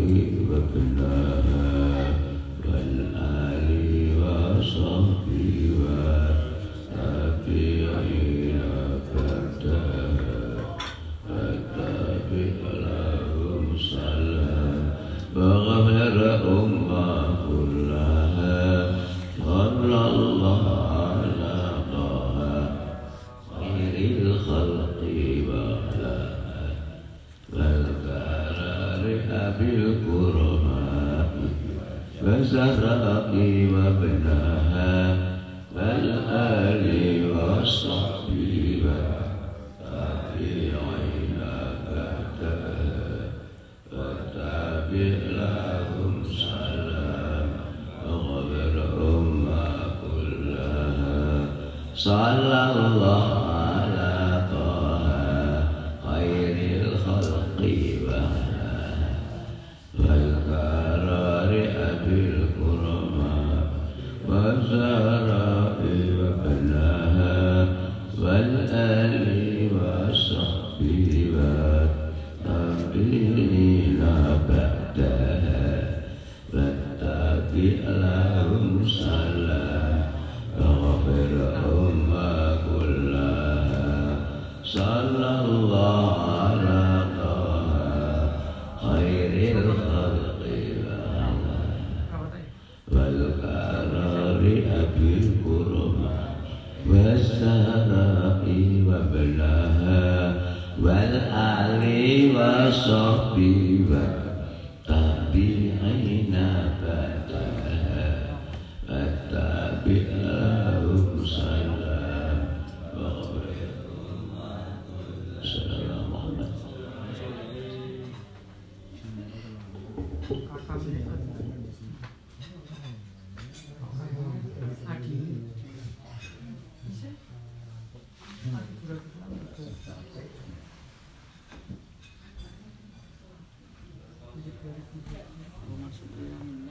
Masuk